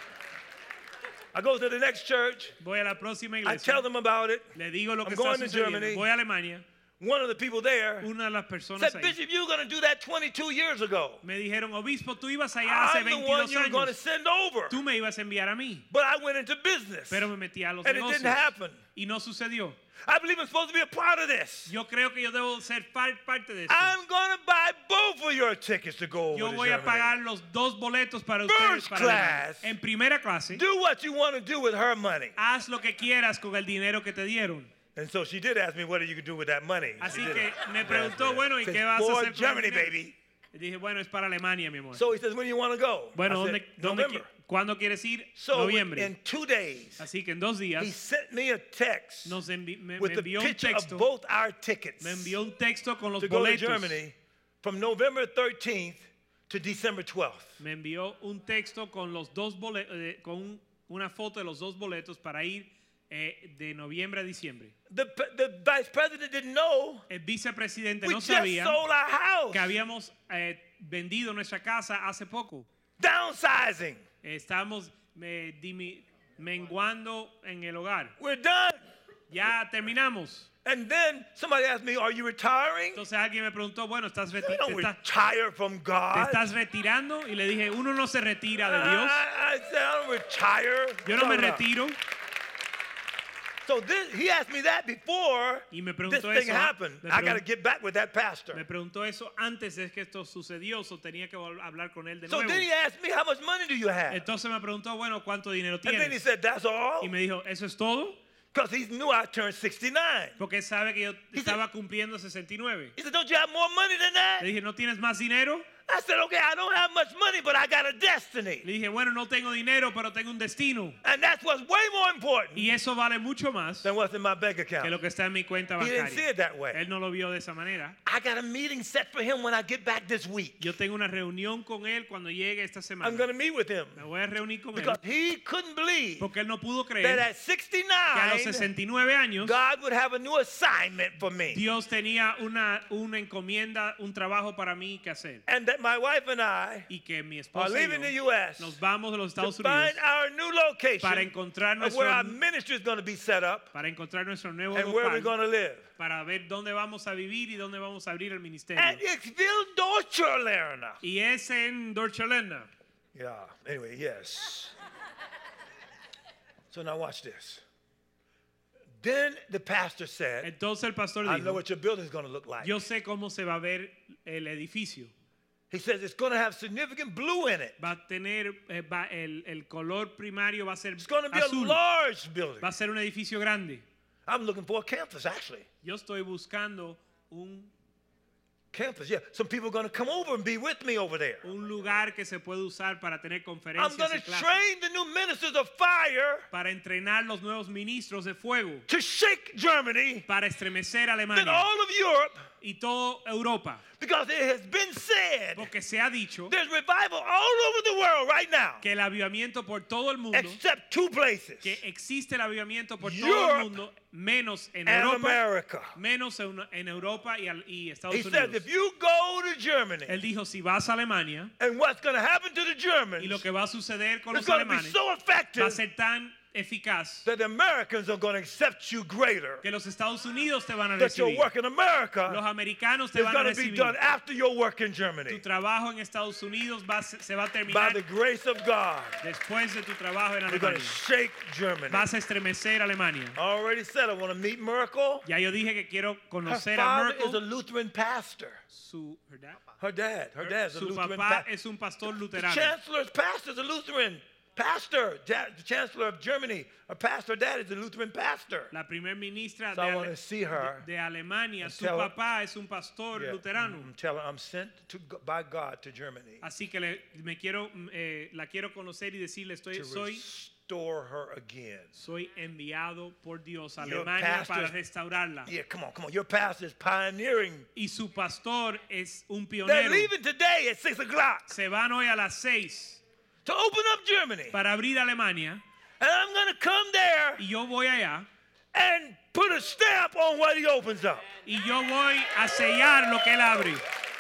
I go to the next church. Voy a la próxima I iglesia. tell them about it. Le digo lo I'm que está going to sucediendo. Germany. Voy a Alemania. One of the people there Una de las personas said, ahí Bishop, you were going to do that 22 years ago. me dijeron, obispo, tú ibas allá hace I'm the one 22 you're going to años. send over. Tú me ibas a enviar a mí. But I went into business. Pero me metí a los And it negocios. didn't happen. Y no sucedió. I believe I'm supposed to be a part of this. Yo creo que yo debo ser parte de esto. I'm going to buy both of your tickets to go over Yo to voy a Germany. pagar los 2 boletos para ustedes. First Para class. Alemania. En primera clase. Do what you want to do with her money. Haz lo que quieras con el dinero que te dieron. And so she did ask me, what are you going to do with that money? Así She did que ask me me preguntó, that. bueno, ¿y Says, qué vas a for hacer con el Germany, dinero? baby. Y dije, bueno, es para Alemania, mi amor. So he says, when do you want to go? Bueno, I said, ¿dónde November. ¿cuándo quieres ir? So Noviembre. in 2 days, Así que en 2 días he sent me a text me with the envió un picture of texto. both our tickets Me envió un texto con los to go to boletos. Germany from November 13th to December 12th. Me envió un texto con los dos boletos, con una foto de los dos boletos para ir de noviembre a diciembre. The vice president didn't know El vicepresidente we no just sabía sold our house. que habíamos vendido nuestra casa hace poco. Downsizing. Estamos menguando en el hogar. We're done. Ya terminamos. And then somebody asked me, are you retiring? Entonces alguien me preguntó, bueno, You don't retire from ¿te God. estás retirando? Y le dije, uno no se retira de Dios. I said, I don't retire. Yo no me No. retiro. So he asked me that before Y me this preguntó thing eso. happened. I got to get back with that pastor. Me preguntó eso antes de que esto sucedió, so tenía que hablar con él de So nuevo. then he asked me, how much money do you have? Entonces me preguntó, bueno, ¿cuánto dinero And then he tienes? said, that's all? Y me dijo, ¿eso es todo? Because he knew I turned 69. Porque él sabe que yo He estaba cumpliendo 69. He said, don't you have more money than that? Le dije, ¿no tienes más dinero? I said, okay, I don't have much money, but I got a destiny. Le dije, bueno, no tengo dinero, pero tengo un destino. And that's what's way more important Y eso vale mucho más than what's in my bank que account. lo que está en mi cuenta He didn't see bancaria. it that way. Él no lo vio de esa manera. I got a meeting set for him when I get back this week. Yo tengo una reunión con él cuando llegue esta I'm semana. going to meet with him Me voy a reunir con él because he couldn't believe porque él no pudo that creer at que a los 69, 69 años God would have a new assignment for me. Dios tenía una encomienda, un trabajo para mí que hacer. And that my wife and I Y que mi are esposa y leaving the yo U.S. nos vamos de los to Estados find Unidos our new location para encontrar of where our nuestro, ministry is going to be set up para encontrar nuestro nuevo and where we're local, going to live. para ver dónde vamos a vivir y dónde vamos a abrir el ministerio. At Ixville, Deutschland. Y es en Deutschland. Yeah, anyway, yes. So now watch this. Then the pastor said, Entonces el pastor I know dijo, what your building is going to look like. yo sé cómo se va a ver el edificio. He says it's going to have significant blue in it. Va a tener, el color primario va a ser It's going to be a azul. large building. Va a ser un edificio grande. I'm looking for a campus, actually. Yo estoy buscando un Campus, yeah. Some people are going to come over and be with me over there. lugar que se puede usar para tener I'm conferencias going y to clases, train the new ministers of fire para entrenar los nuevos ministros de fuego, to shake Germany, para estremecer then Alemania all of Europe, y toda Europa, because it has been said porque se ha dicho there's revival all over the world right now, que el avivamiento por todo el mundo, except two places, que existe el avivamiento por todo Europe el mundo, menos en and Europa, America. menos en Europa y Estados He said, Unidos. if you go to Germany, Él dijo, si vas a Alemania and what's going to happen to the Germans y lo que va a suceder con is los going to be alemanes so va a effective ser tan eficaz that the Americans are going to accept you greater. que los Estados Unidos te van a That your recibir. work in Los America americanos te is van a going to be recibir. done after your work in Tu Germany trabajo en Estados Unidos se va a by terminar the grace of God. después de tu trabajo en We're going to Alemania. shake Germany. Vas a estremecer Alemania. I already said I want to meet Merkel. Ya yo dije que quiero Her conocer a father is a Merkel. Her dad is a Su Lutheran papá pastor. es un pastor The luterano. chancellor's pastor is a Lutheran pastor. The chancellor of Germany, her pastor dad is a Lutheran pastor. La primer ministra So I want to see her. de Alemania, su tell her- papá es un pastor Yeah, luterano. tell her I'm sent by God to Germany Así que la quiero conocer y decirle, to soy restore her again. enviado por Dios a Your Alemania para pastor's- restaurarla. Yeah, come on. Your pastor is pioneering. Y su pastor es un They're pionero. leaving today at 6 o'clock Se van hoy a las 6 to open up Germany. para abrir Alemania And I'm going to come there y yo voy allá and put a stamp on what he opens up. y yo voy a sellar lo que él abre.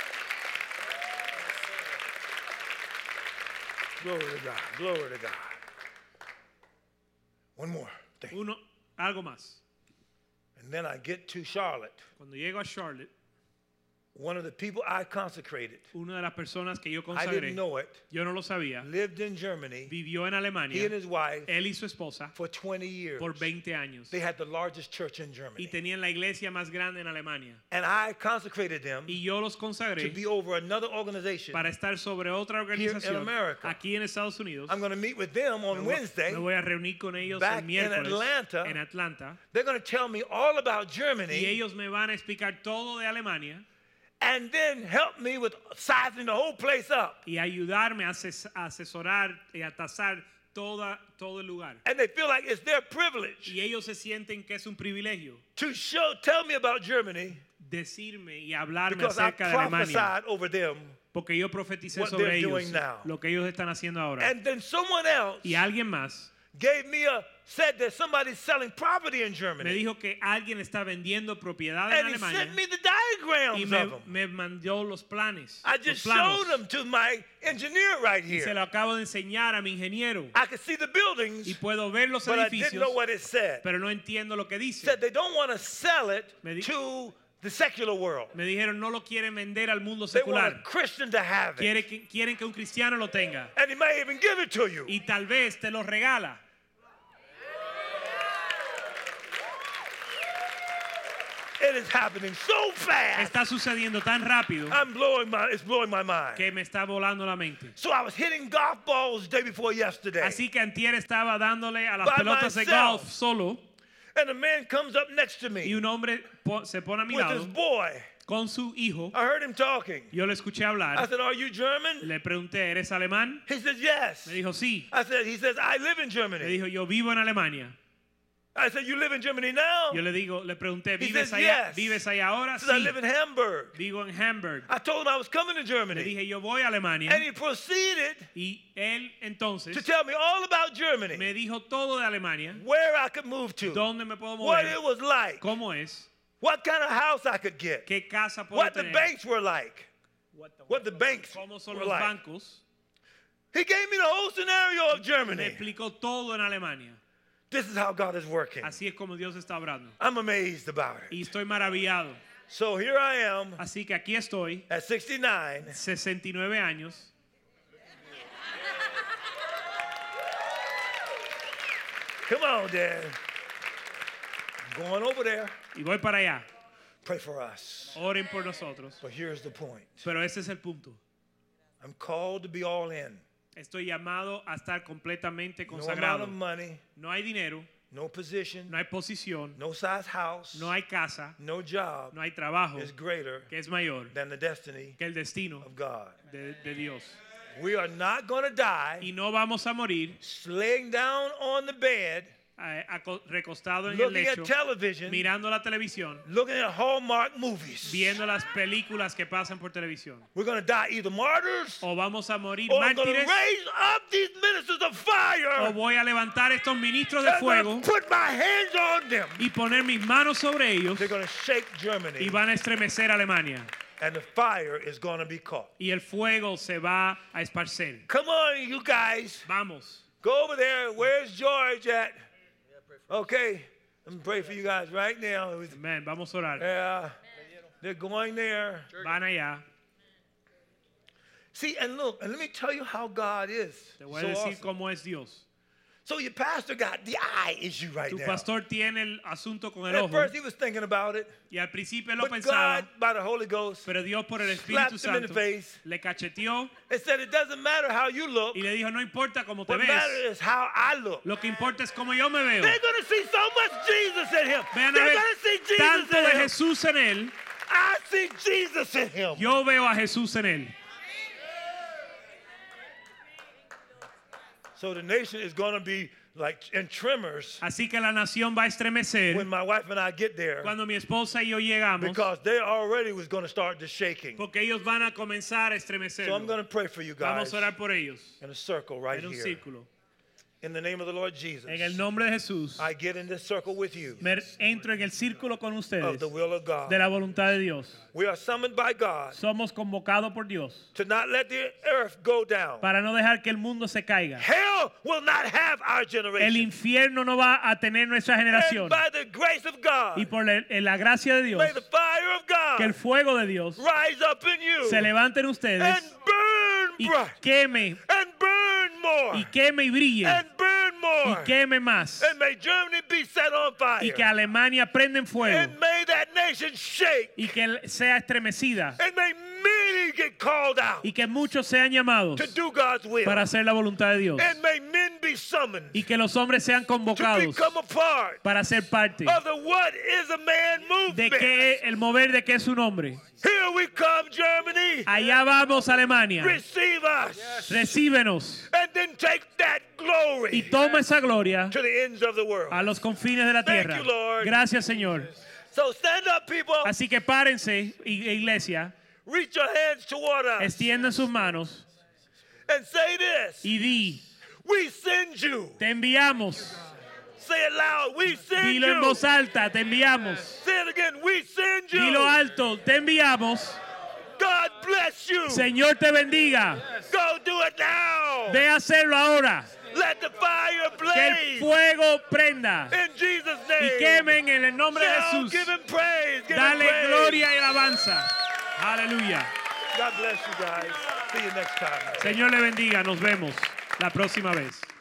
Glory to God. Glory to God. One more thing. Algo más. And then I get to Charlotte. Cuando llego a Charlotte, one of the people I consecrated, una de las personas que yo I consagré, didn't know it, yo no lo sabía, lived in Germany, vivió en he Alemania, and his wife, él y su esposa, for 20 years. por 20 años. They had the largest church in Y Germany. tenían la iglesia más grande en Alemania. And I consecrated them Y yo los to consagré be over another organization. para estar sobre otra organización America. aquí en Estados Unidos. I'm going to meet with them on Wednesday. Me voy a reunir con ellos back el miércoles in Atlanta. en Atlanta. They're going to tell me all about Y Germany ellos me van a explicar todo de Alemania and then help me with sizing the whole place up. y ayudarme a asesorar y a tasar todo el lugar. And they feel like it's their privilege Y ellos se sienten que es un privilegio to tell me about Germany decirme y hablarme because I acerca de Alemania. prophesied over them. Porque yo profeticé what sobre they're ellos doing now. lo que ellos están haciendo ahora. And then someone else Y alguien más said that somebody's selling property in me Germany. dijo que alguien está vendiendo propiedad And en he Alemania sent me the y diagrams of them. me mandó los planes. I los just planos. showed them to my engineer right Y se here. lo acabo de enseñar a mi ingeniero. I could see the buildings, Y puedo ver los but I didn't edificios, know what it said. pero no entiendo lo que dice. Said they don't want to sell it Me di- to the secular world. Me dijeron no lo quieren vender al mundo They want a secular. Christian to have it. Quieren que un cristiano lo tenga. And he may even give it to you. Y tal vez te lo regala. It is happening so fast. Está sucediendo tan rápido It's blowing my mind. que me está volando la mente. So I was hitting golf balls the day before yesterday. Así que antier estaba dándole a las By pelotas de myself. golf solo And a man comes up next to y me un hombre se pone a mi with his lado boy. con su hijo. I heard him talking. Yo le escuché I hablar. said, "Are you German?" Le pregunté, ¿eres alemán? He said, "Yes." Me dijo, sí. He says, "I live in Me Germany." dijo, yo vivo en Alemania. I said, "You live in Germany now?" Yo le pregunté, He ¿vives says, allá? yes. ¿Vives allá ahora? He said, "I Sí. live in Hamburg." Vivo en Hamburg. I told him I was coming to Le Germany. dije, yo voy a Alemania. And he proceeded Y él entonces to tell me all about Germany, me dijo todo de Alemania. where I could move to, ¿Dónde me puedo what mover? it was like, ¿Cómo es? what kind of house I could get, ¿Qué casa puedo what the tener? banks were like, what the banks ¿Cómo son were los like. bancos? He gave me the whole scenario of Me Germany. explicó todo en Alemania. This is how God is working. Así es como Dios está obrando. I'm amazed about it. Y estoy maravillado. So here I am Así que aquí estoy, at 69. 69 años. Come on, Dad. Going over there. Y voy para allá. Pray for us. Oren por nosotros. But here's the point. Pero ese es el punto. I'm called to be all in. Estoy llamado a estar completamente No amount consagrado. of money, No hay dinero, no position, no hay posición, no size house, no hay casa, no job no hay trabajo is greater que es mayor than the destiny que el destino of God. de Dios. We are not going to die Y no vamos a morir laying down on the bed, recostado en el looking lecho, at television, mirando la televisión, looking at Hallmark movies. viendo las películas que pasan por televisión. We're going to die either martyrs O vamos a morir or I'm going to mártires, raise up these ministers of fire o voy a levantar estos ministros de and I'm fuego going to put my hands on them. y poner mis manos sobre ellos They're going to shake y Germany van a estremecer Alemania. and the fire is going to be caught. Y el fuego se va a esparcer. Come on, you guys. Vamos. Go over there. Where's George at? Okay. Let me pray for you guys right now. Amén. Vamos a orar. Yeah. They're going there. Van allá. See, and look, and let me tell you how God is. Te voy a So decir awesome. cómo es Dios. So your pastor got the eye issue right Tu now. pastor tiene el asunto con el At ojo. first he was thinking about it, Y al principio él lo but pensaba. God, by the Holy Ghost, Pero Dios por el slapped Espíritu him in the Santo face le cacheteó and said, it doesn't matter how you look. y le dijo, no importa cómo te What matters ves. is how I look. Lo que importa es cómo yo me veo. They're going to see so much Jesus in him. Vean a They're ver going to see Jesus tanto de in him. Jesús en él. I see Jesus in him. Yo veo a Jesús en él. So the nation is going to be like in tremors Así que la nación va a estremecer when my wife and I get there cuando mi esposa y yo llegamos. because they already was going to start the shaking. Porque ellos van a comenzar a estremecer. So I'm going to pray for you guys Vamos a orar por ellos. in a circle right En un here. círculo. In the name of the Lord Jesus, En el nombre de Jesús. I get in this circle with you Entro en el círculo con of ustedes the will of God. de la voluntad de Dios. We are summoned by God Somos convocados por Dios to not let the earth go down. para no dejar que el mundo se caiga. Hell will not have our El generation. infierno no va a tener nuestra And generación. by the grace of God, Y por la gracia de Dios, may the fire of God que el fuego de Dios rise up in you se levante en ustedes and burn y bright queme and burn more y queme y brille and burn y more. queme más And may Germany be set on fire. y que Alemania prenda en fuego And may that nation shake. y que sea estremecida And may many get called out y que muchos sean llamados to do God's will. para hacer la voluntad de Dios And may men be summoned y que los hombres sean to convocados become a part para ser parte of the What is a Man de movement. que el mover de que es un hombre. Here we come, Germany. Allá vamos, Alemania. Receive us. Recíbenos And then take that y glory toma esa gloria to the ends of the world. a los confines de la Thank tierra. you, Lord. Gracias, Señor. So stand up, people. Así que párense, iglesia, Reach your hands toward us extiendan sus manos and say this. y di, We send you. te enviamos. Say it loud. We send Dilo en you. voz alta, te enviamos. Say it again. We send you. Dilo alto, te enviamos. God bless you. Señor te bendiga. Go do it now. Ve a hacerlo ahora. Let the fire Que el blaze. fuego prenda In Jesus' y name. quemen en el nombre de Now Jesús. give him praise. Give him Dale praise. gloria y alabanza. Aleluya. God bless you guys. See you next time. Señor le bendiga. Nos vemos la próxima vez.